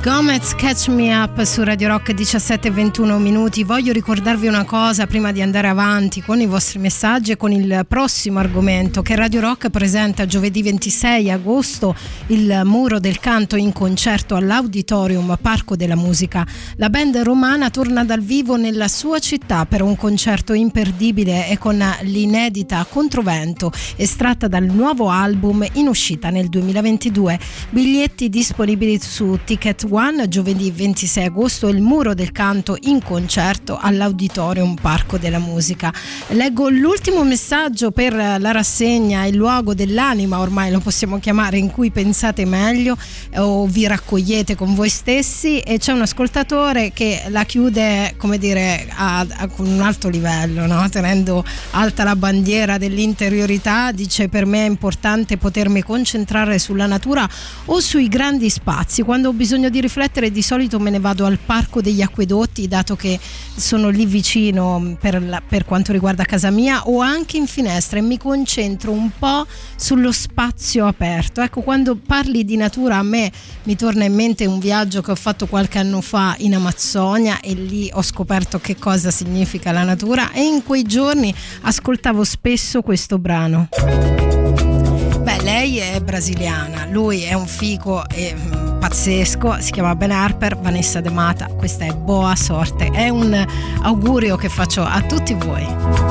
S3: Gomez, Catch Me Up su Radio Rock, diciassette e ventuno minuti. Voglio ricordarvi una cosa prima di andare avanti con i vostri messaggi e con il prossimo argomento, che Radio Rock presenta giovedì ventisei agosto il Muro del Canto in concerto all'Auditorium Parco della Musica. La band romana torna dal vivo nella sua città per un concerto imperdibile e con l'inedita Controvento, estratta dal nuovo album in uscita nel duemilaventidue. Biglietti disponibili su Ticket One giovedì ventisei agosto, il Muro del Canto in concerto all'Auditorium Parco della Musica. Leggo l'ultimo messaggio per la rassegna Il luogo dell'anima, ormai lo possiamo chiamare, in cui pensate meglio o vi raccogliete con voi stessi, e c'è un ascoltatore che la chiude, come dire, a, a, con un alto livello, no? Tenendo alta la bandiera dell'interiorità. Dice: per me è importante potermi concentrare sulla natura o sui grandi spazi. Quando ho bisogno di riflettere, di solito me ne vado al Parco degli Acquedotti, dato che sono lì vicino per, la, per quanto riguarda casa mia, o anche in finestra, e mi concentro un po' sullo spazio aperto. Ecco, quando parli di natura a me mi torna in mente un viaggio che ho fatto qualche anno fa in Amazzonia, e lì ho scoperto che cosa significa la natura, e in quei giorni ascoltavo spesso questo brano. Beh, lei è brasiliana, lui è un figo e mm, pazzesco, si chiama Ben Harper, Vanessa De Mata, questa è Boa Sorte, è un augurio che faccio a tutti voi.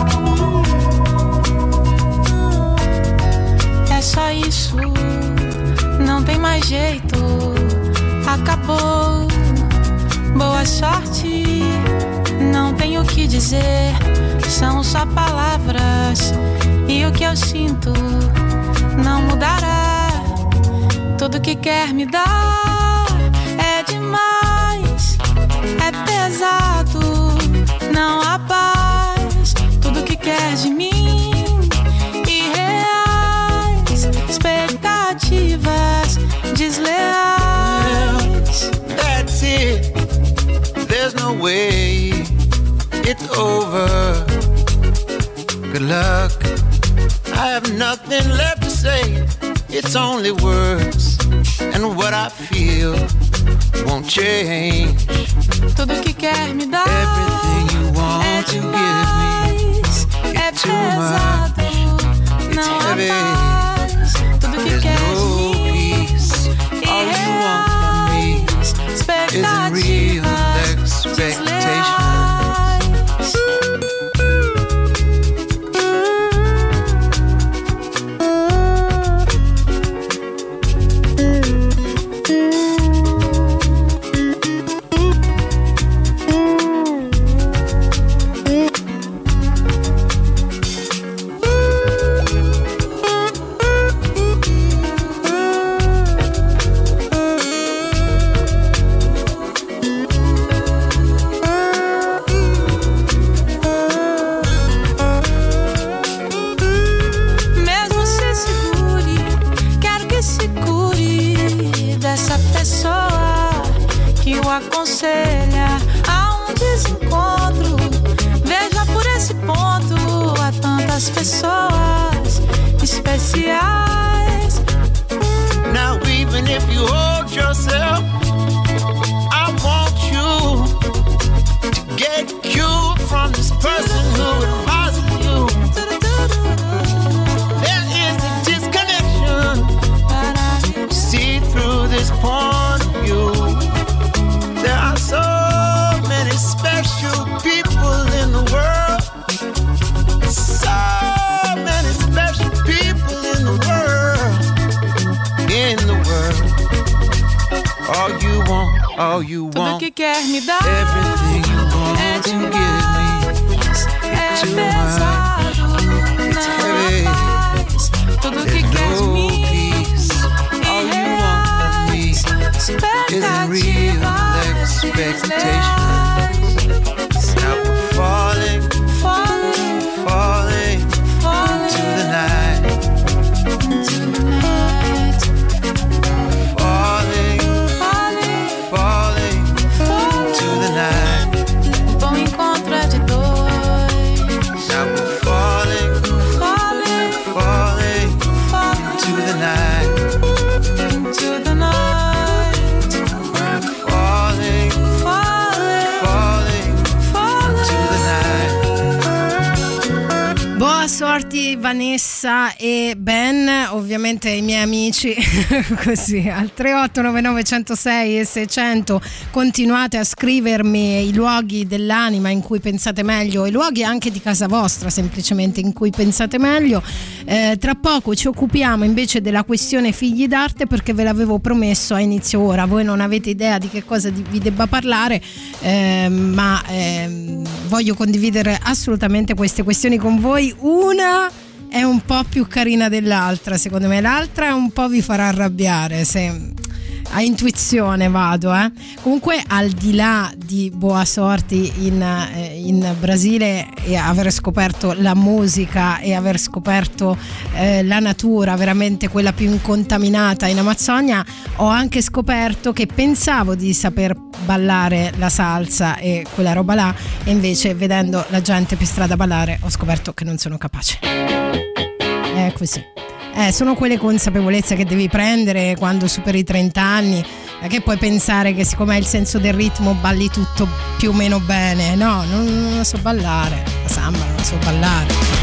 S14: É só isso, não tem mais jeito, acabou. Boa sorte, não tenho o que dizer, são só palavras, e o que eu sinto não mudará. Tudo que quer me dar é demais, é pesado, não há paz. Tudo que quer de mim, irreais, expectativas desleais.
S10: That's it, there's no way, it's over. Good luck, I have nothing left to say. It's only words, and what I feel won't change.
S14: Tudo que quer me dar
S10: everything you want
S14: é
S10: to
S14: demais,
S10: give me,
S14: é
S10: it's too
S14: pesado,
S10: much,
S14: não há
S10: heavy.
S14: paz. Tudo que
S10: There's
S14: quer
S10: no
S14: de mim,
S10: peace. All you want from me isn't real expectation.
S14: Aconselha a um desencontro. Veja por esse ponto, há tantas pessoas especiais.
S10: Now even if you hold yourself, I want you to get cured from this person who advises you. There is a disconnection. See through this point of view. There are so many special people in the world. So many special people in the world. In the world. All you want, all you
S14: Tudo
S10: want.
S14: que quer me dar
S10: everything you want
S14: é
S10: to give me.
S14: demais, é
S10: too
S14: pesado,
S10: It's
S14: não
S10: heavy.
S14: há paz. Tudo que
S10: There's
S14: quer de
S10: no
S14: mim,
S10: peace. All you want from me isn't real expectations. Now we're falling,
S14: falling,
S10: falling,
S14: falling
S10: into the night.
S14: into the night.
S10: Falling,
S14: Falling,
S10: falling,
S14: falling
S10: into the night.
S14: O bom encontro é de dois.
S10: Now we're
S3: Vanessa e Ben, ovviamente i miei amici, così al tre otto nove nove uno zero sei e seicento continuate a scrivermi i luoghi dell'anima in cui pensate meglio, i luoghi anche di casa vostra semplicemente in cui pensate meglio. Eh, tra poco ci occupiamo invece della questione figli d'arte, perché ve l'avevo promesso a inizio ora, voi non avete idea di che cosa vi debba parlare, eh, ma eh, voglio condividere assolutamente queste questioni con voi. Una è un po' più carina dell'altra, secondo me, l'altra un po' vi farà arrabbiare, se a intuizione vado, eh. Comunque, al di là di Boa Sorti in, eh, in Brasile e aver scoperto la musica e aver scoperto eh, la natura, veramente quella più incontaminata in Amazzonia, ho anche scoperto che pensavo di saper ballare la salsa e quella roba là, e invece vedendo la gente per strada ballare ho scoperto che non sono capace. È così. Eh, sono quelle consapevolezze che devi prendere quando superi i trenta anni, eh, che puoi pensare che siccome hai il senso del ritmo balli tutto più o meno bene. No, non, non la so ballare, la samba non la so ballare.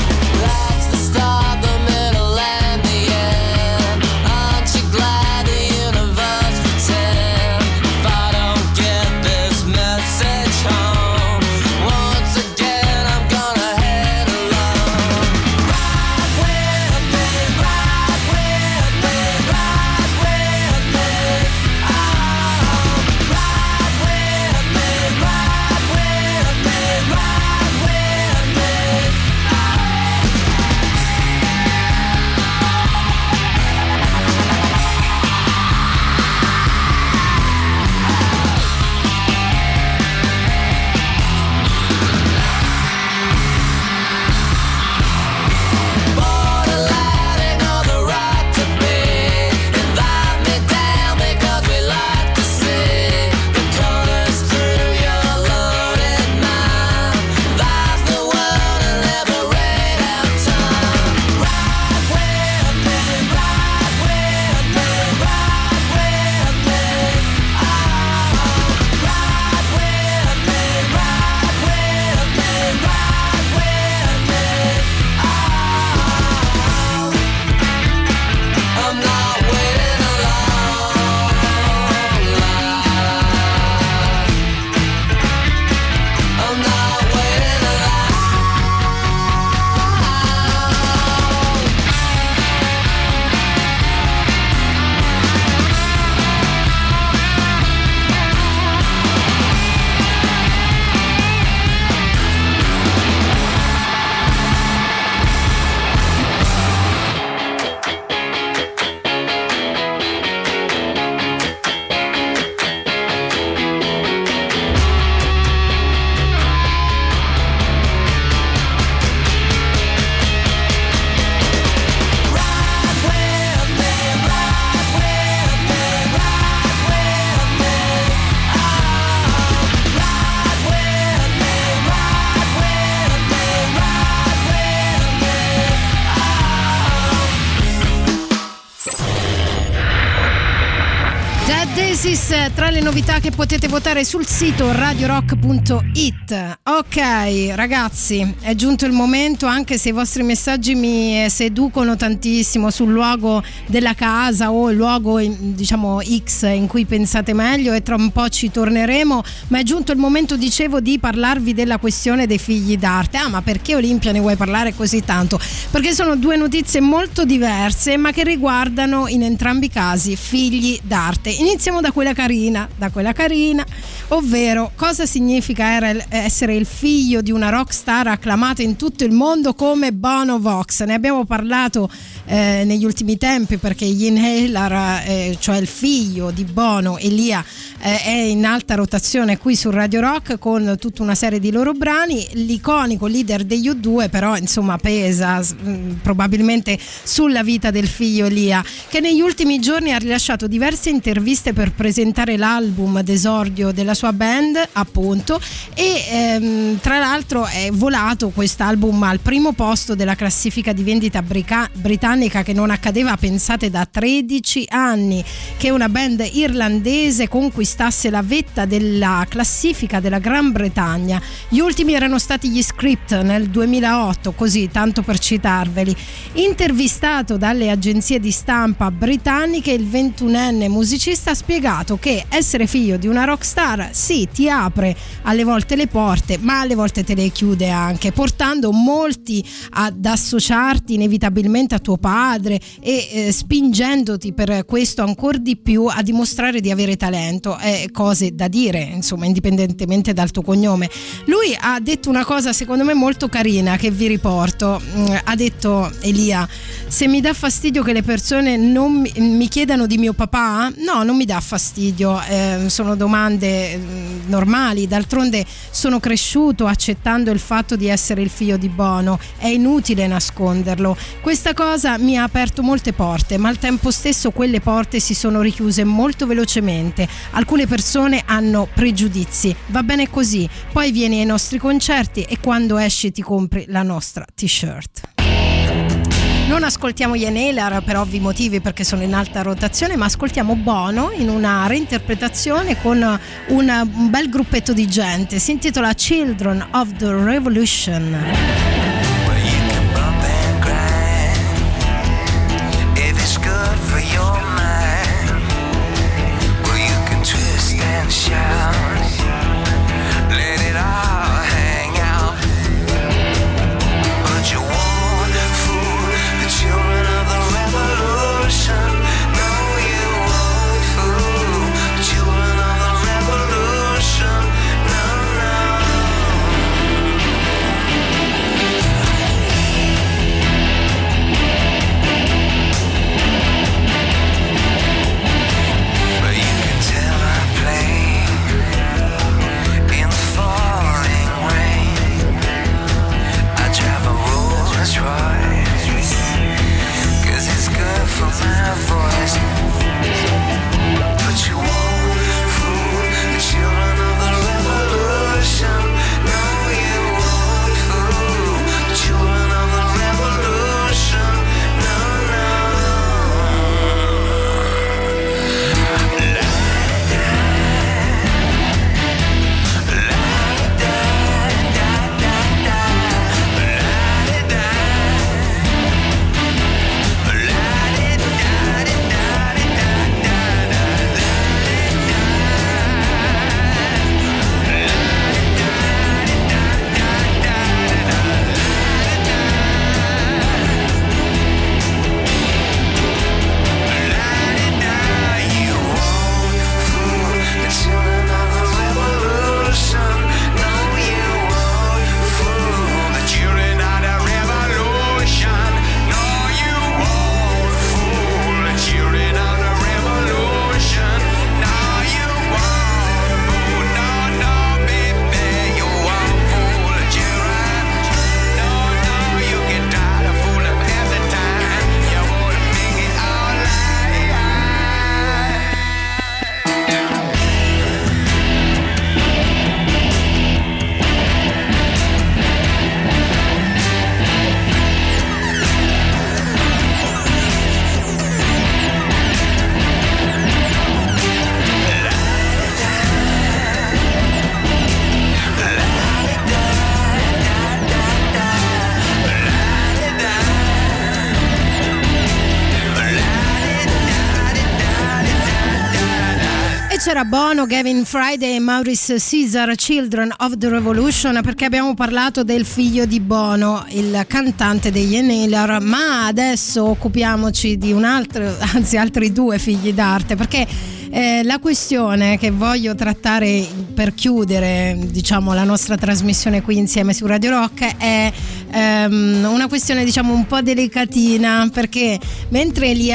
S3: Tra le novità che potete votare sul sito radio rock punto it. Ok ragazzi, è giunto il momento, anche se i vostri messaggi mi seducono tantissimo sul luogo della casa o il luogo diciamo X in cui pensate meglio, e tra un po' ci torneremo, ma è giunto il momento, dicevo, di parlarvi della questione dei figli d'arte. Ah, ma perché Olimpia ne vuoi parlare così tanto? Perché sono due notizie molto diverse ma che riguardano in entrambi i casi figli d'arte. Iniziamo da quella carina, da quella carina, ovvero cosa significa essere il figlio di una rockstar acclamata in tutto il mondo come Bono Vox. Ne abbiamo parlato eh, negli ultimi tempi, perché gli Inhaler, eh, cioè il figlio di Bono, Elia, eh, è in alta rotazione qui su Radio Rock con tutta una serie di loro brani. L'iconico leader degli U due però insomma pesa mh, probabilmente sulla vita del figlio Elia, che negli ultimi giorni ha rilasciato diverse interviste per per presentare l'album d'esordio della sua band, appunto, e ehm, tra l'altro è volato quest'album al primo posto della classifica di vendita brica- britannica, che non accadeva, pensate, da tredici anni che una band irlandese conquistasse la vetta della classifica della Gran Bretagna. Gli ultimi erano stati gli Script nel duemilaotto, così tanto per citarveli. Intervistato dalle agenzie di stampa britanniche, il ventunenne musicista ha spiegato che essere figlio di una rockstar sì, ti apre alle volte le porte, ma alle volte te le chiude anche, portando molti ad associarti inevitabilmente a tuo padre e eh, spingendoti per questo ancora di più a dimostrare di avere talento. Eh, cose da dire, insomma, indipendentemente dal tuo cognome. Lui ha detto una cosa secondo me molto carina che vi riporto. Mm, ha detto Elia: se mi dà fastidio che le persone non mi, mi chiedano di mio papà, no, non mi dà fastidio, eh, sono domande mm, normali, d'altronde sono cresciuto accettando il fatto di essere il figlio di Bono, è inutile nasconderlo. Questa cosa mi ha aperto molte porte, ma al tempo stesso quelle porte si sono richiuse molto velocemente. Alcune persone hanno pregiudizi, va bene così, poi vieni ai nostri concerti e quando esci ti compri la nostra t-shirt. Non ascoltiamo gli Inhaler per ovvi motivi, perché sono in alta rotazione, ma ascoltiamo Bono in una reinterpretazione con un, un bel gruppetto di gente. Si intitola Children of the Revolution. C'era Bono, Gavin Friday e Maurice Caesar, Children of the Revolution, perché abbiamo parlato del figlio di Bono, il cantante degli Inhaler, ma adesso occupiamoci di un altro, anzi altri due figli d'arte, perché eh, la questione che voglio trattare per chiudere, diciamo, la nostra trasmissione qui insieme su Radio Rock è ehm, una questione, diciamo, un po' delicatina, perché mentre Elia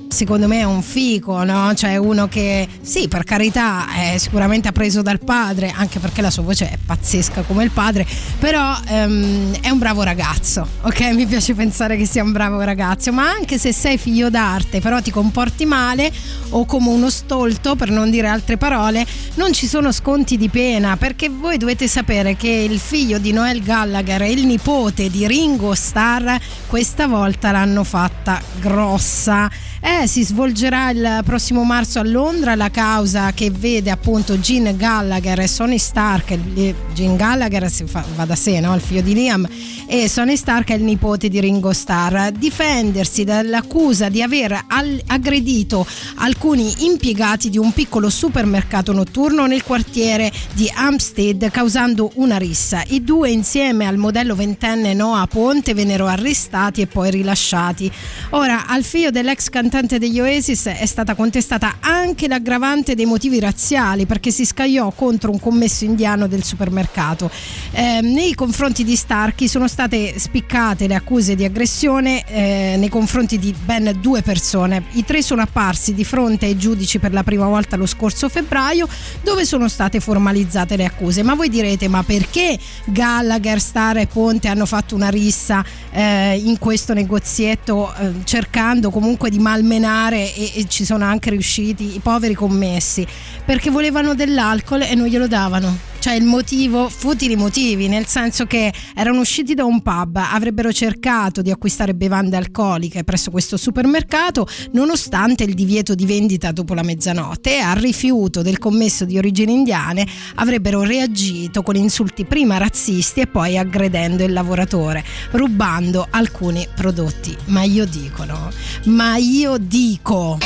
S3: secondo me è un fico, no? Cioè uno che sì, per carità, è sicuramente preso dal padre, anche perché la sua voce è pazzesca come il padre, però ehm, è un bravo ragazzo, ok? Mi piace pensare che sia un bravo ragazzo, ma anche se sei figlio d'arte però ti comporti male o come uno stolto, per non dire altre parole, non ci sono sconti di pena, perché voi dovete sapere che il figlio di Noel Gallagher e il nipote di Ringo Starr questa volta l'hanno fatta grossa. Eh, si svolgerà il prossimo marzo a Londra la causa che vede appunto Gene Gallagher e Sonny Stark. Gene Gallagher si fa, va da sé, no? Il figlio di Liam, e Sonny Stark è il nipote di Ringo Starr, difendersi dall'accusa di aver al- aggredito alcuni impiegati di un piccolo supermercato notturno nel quartiere di Hampstead, causando una rissa. I due, insieme al modello ventenne Noah Ponte, vennero arrestati e poi rilasciati. Ora, al figlio dell'ex cantante degli Oasis è stata contestata anche l'aggravante dei motivi razziali, perché si scagliò contro un commesso indiano del supermercato. Eh, nei confronti di Starkey sono state spiccate le accuse di aggressione eh, nei confronti di ben due persone. I tre sono apparsi di fronte ai giudici per la prima volta lo scorso febbraio, dove sono state formalizzate le accuse. Ma voi direte, ma perché Gallagher, Starr e Ponte hanno fatto una rissa eh, in questo negozietto, eh, cercando comunque di malmenare e, e ci sono anche riusciti i poveri commessi? Perché volevano dell'alcol e non glielo davano. Cioè il motivo, futili motivi, nel senso che erano usciti da un pub, avrebbero cercato di acquistare bevande alcoliche presso questo supermercato nonostante il divieto di vendita dopo la mezzanotte, e al rifiuto del commesso di origini indiane avrebbero reagito con insulti prima razzisti e poi aggredendo il lavoratore, rubando alcuni prodotti. Ma io dico, no? Ma io dico...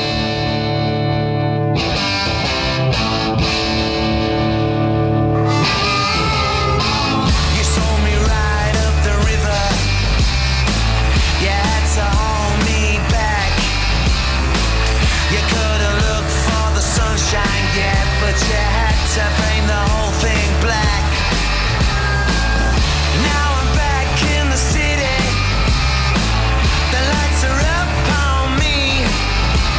S7: To paint the whole thing black. Now I'm back in the city. The lights are up on me.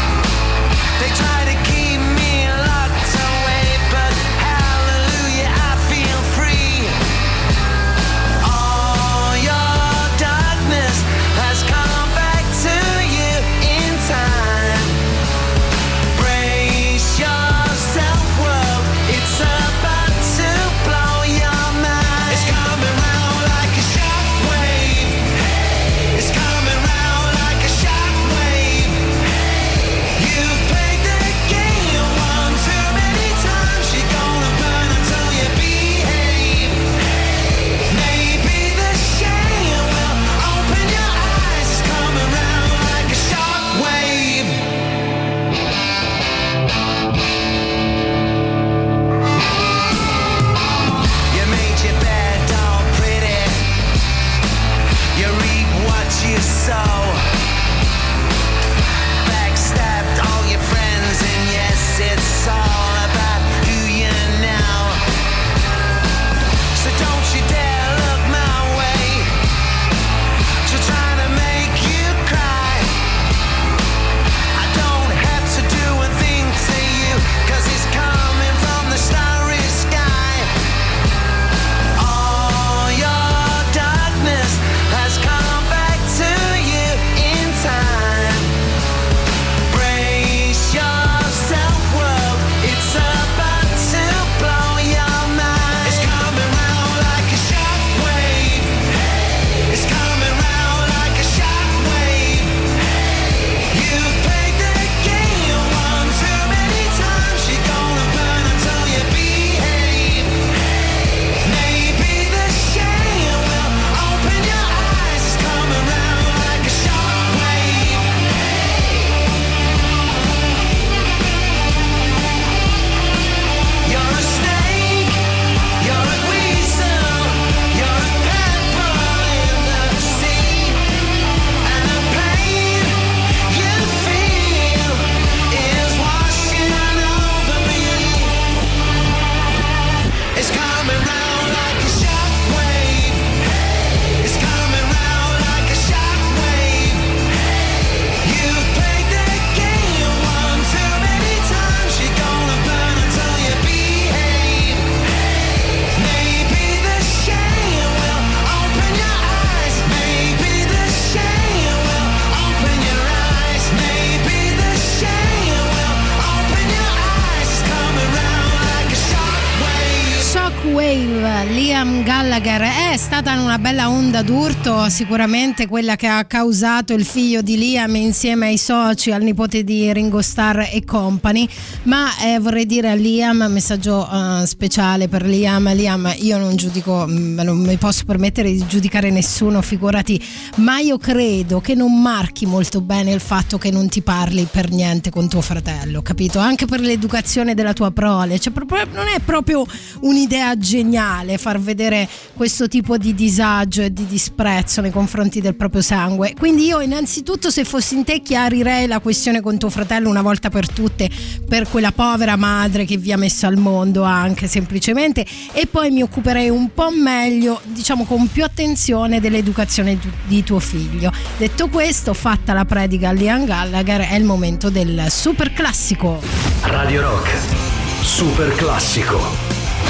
S3: Liam Gallagher. È stata una bella onda d'urto, sicuramente quella che ha causato il figlio di Liam insieme ai soci, al nipote di Ringo Starr e company. Ma eh, vorrei dire a Liam, messaggio uh, speciale per Liam. Liam, io non giudico, non mi posso permettere di giudicare nessuno, figurati, ma io credo che non marchi molto bene il fatto che non ti parli per niente con tuo fratello, capito? Anche per l'educazione della tua prole, cioè proprio, non è proprio un'idea geniale far vedere questo tipo di disagio e di disprezzo nei confronti del proprio sangue. Quindi io innanzitutto, se fossi in te, chiarirei la questione con tuo fratello una volta per tutte, per quella povera madre che vi ha messo al mondo, anche semplicemente, e poi mi occuperei un po' meglio, diciamo con più attenzione, dell'educazione di tuo figlio. Detto questo, fatta la predica a Liam Gallagher, è il momento del super classico.
S1: Radio Rock Super Classico.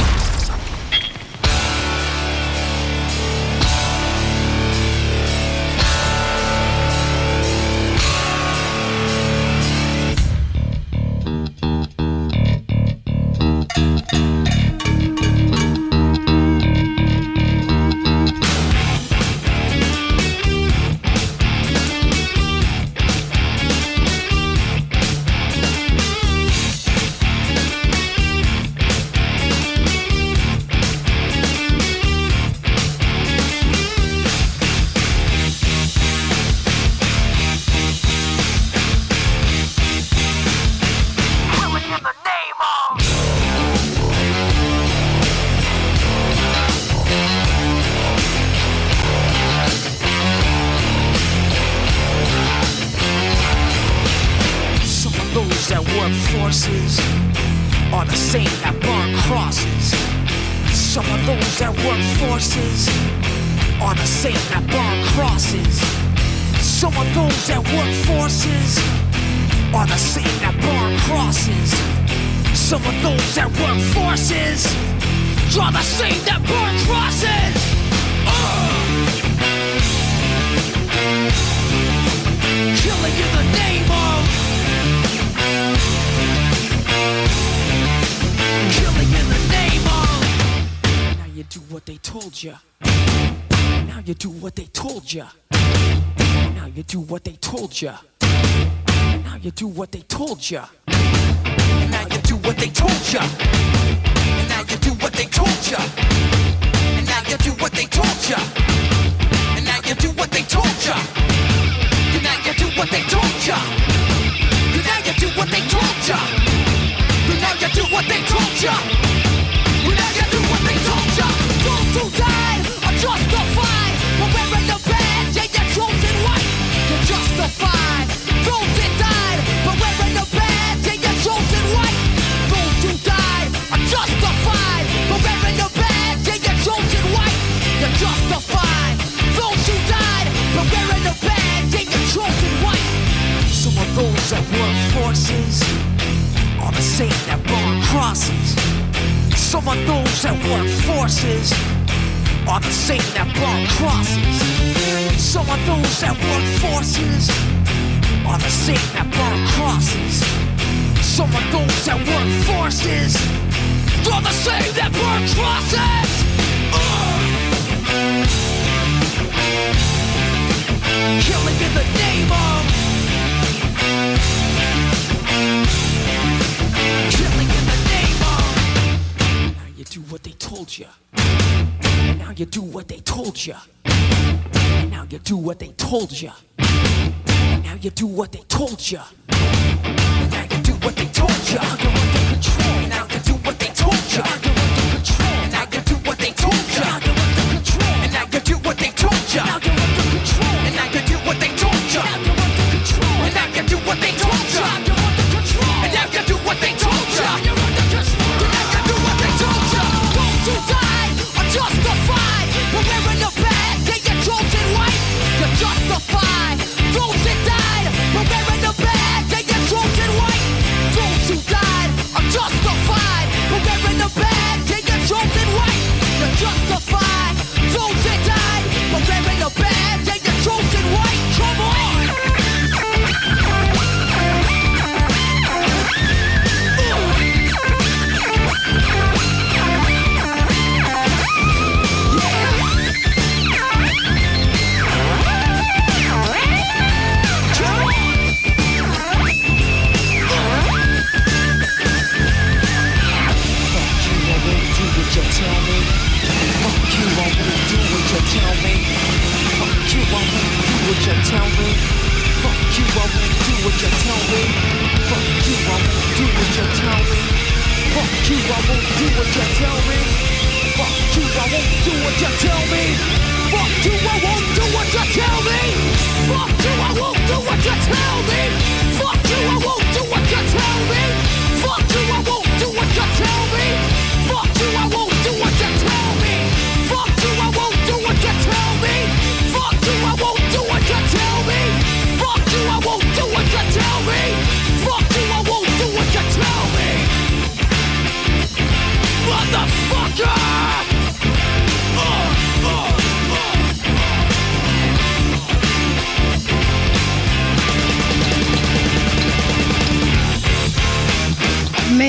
S15: Ya. And now you do what they told ya. And now you do what they told ya. And now you do what they told ya. And now you do what they told ya. And now you do what they told ya. And now you do what they told ya. And now you do what they told ya. And now you do what they told ya. And now you do what they told ya. Those who died are justified for wearing the badge and your chosen white. You're justified. Those that died for wearing the badge and your chosen white. Those who died are justified for wearing the badge and your chosen white. You're justified. Those who died for wearing the badge and your chosen white. Some of those that work forces are the same that burn crosses. Some of those that work forces are the same that burn crosses. Some of those that work forces are the same that burn crosses. Some of those that work forces are the same that burn crosses. Ugh. Killing in the name of. Killing in the name of. Now you do what they told you. And now you do what they told you. And now you do what they told you. And now you do what they told you. And now you do what they told you. You're under control. And now you do what they told you. You're under control. And now you do what they told you. You're under control. And now you do what they told you. Now you're under control. And now you do what they told you. Now you're under control. And now you do what they told you. You're under control. And now you do what they told you. You're under control. And now you do what they told you. Those who died are justified for wearing the badge and your chosen white. You're justified. Those that died for wearing the badge and your chosen white. Those who died are justified for wearing the badge.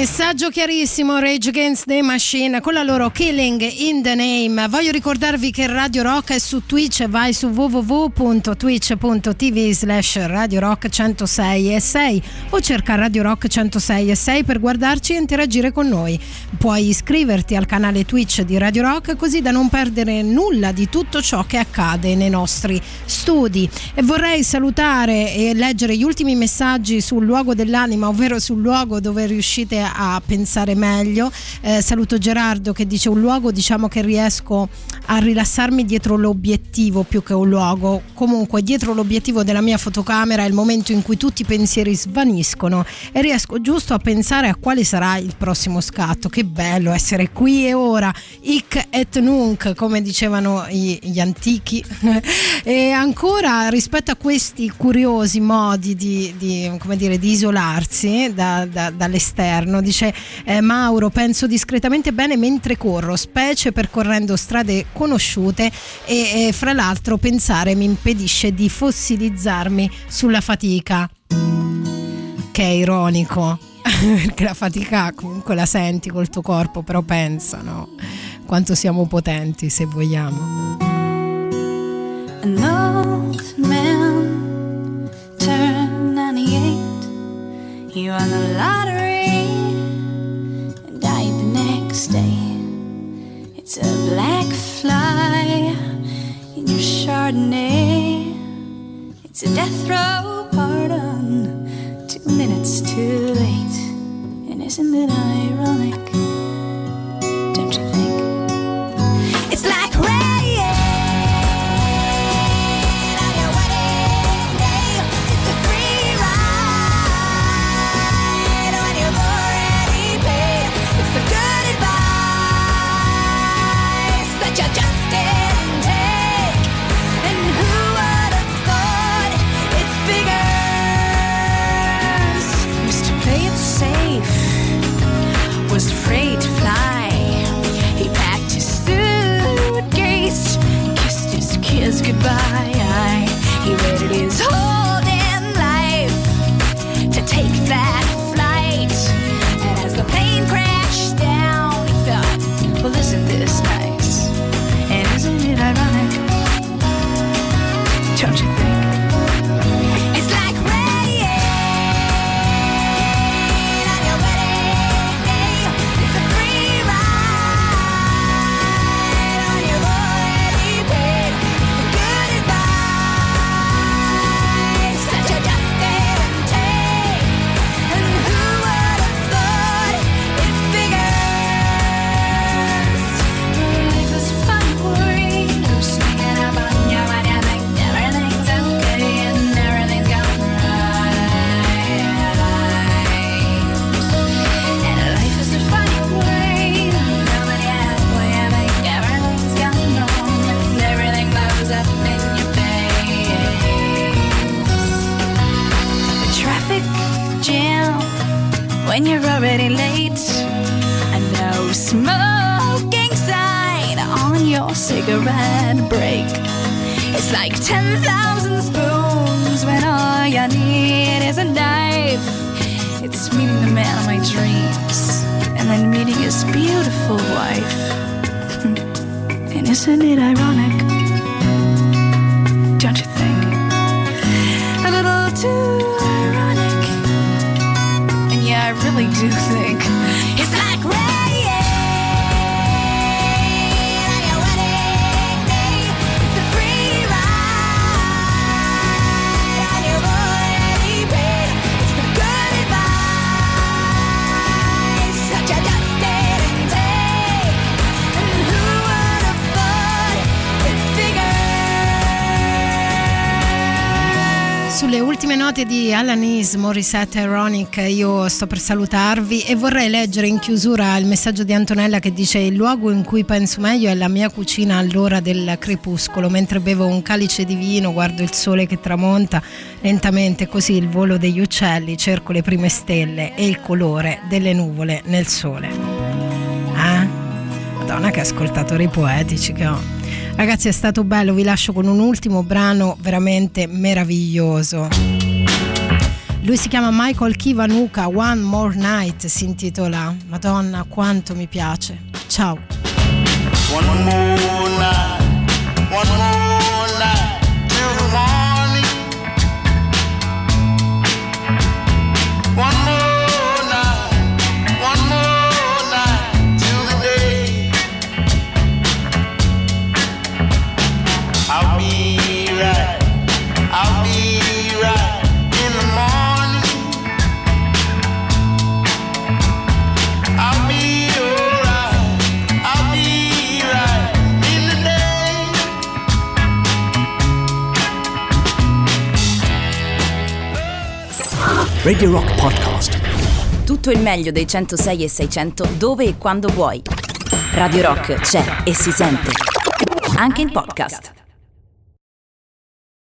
S3: Messaggio chiarissimo, Rage Against the Machine con la loro Killing in the Name. Voglio ricordarvi che Radio Rock è su Twitch, vai su w w w punto twitch punto t v slash Radio Rock centosei e sei o cerca Radio Rock centosei e sei per guardarci e interagire con noi. Puoi iscriverti al canale Twitch di Radio Rock così da non perdere nulla di tutto ciò che accade nei nostri studi. E vorrei salutare e leggere gli ultimi messaggi sul luogo dell'anima, ovvero sul luogo dove riuscite a pensare meglio. Eh, saluto Gerardo che dice: un luogo, diciamo che riesco a rilassarmi dietro l'obiettivo più che un luogo. Comunque dietro l'obiettivo della mia fotocamera è il momento in cui tutti i pensieri svaniscono e riesco giusto a pensare a quale sarà il prossimo scatto. Che bello essere qui e ora, hic et nunc, come dicevano i, gli antichi. E ancora, rispetto a questi curiosi modi di, di, come dire, di isolarsi da, da, dall'esterno, dice eh, Mauro: penso discretamente bene mentre corro, specie percorrendo strade conosciute e, e fra l'altro pensare mi impedisce di fossilizzarmi sulla fatica. Che è ironico perché la fatica comunque la senti col tuo corpo, però pensa, no? Quanto siamo potenti, se vogliamo.
S14: An old man turned ninety-eight. He won the lottery and died the next day. It's a black fly in your Chardonnay. It's a death row pardon, two minutes too late. And isn't it ironic? Don't you think? It's like rain. Afraid to fly. He packed his suitcase, kissed his kids goodbye. He waited his whole damn life to take that flight. And as the plane crashed down, he thought, well, isn't this nice? And isn't it ironic? Don't you think? When you're already late, and no smoking sign on your cigarette break. It's like ten thousand spoons when all you need is a knife. It's meeting the man of my dreams and then meeting his beautiful wife. And isn't it ironic? Don't you think? A little too I really do think it's like rain on your wedding day. It's a free ride on your already paid. It's the good advice that you just didn't take. And who would have thought it figured?
S3: Sulle ultime note di Alanis Morissette Ironic io sto per salutarvi e vorrei leggere in chiusura il messaggio di Antonella che dice: il luogo in cui penso meglio è la mia cucina all'ora del crepuscolo, mentre bevo un calice di vino, guardo il sole che tramonta lentamente, così il volo degli uccelli, cerco le prime stelle e il colore delle nuvole nel sole. Eh? Madonna, che ascoltatori poetici che ho. Ragazzi, è stato bello, vi lascio con un ultimo brano veramente meraviglioso. Lui si chiama Michael Kiwanuka, One More Night si intitola. Madonna, quanto mi piace. Ciao.
S7: One more night, one more night till the morning. One more night, one more night till the day. I'll be right, I'll be right in the morning. I'll be alright, I'll be right in the day.
S1: Radio Rock Podcast.
S2: Tutto il meglio dei centosei e seicento dove e quando vuoi. Radio Rock c'è e si sente. Anche in podcast.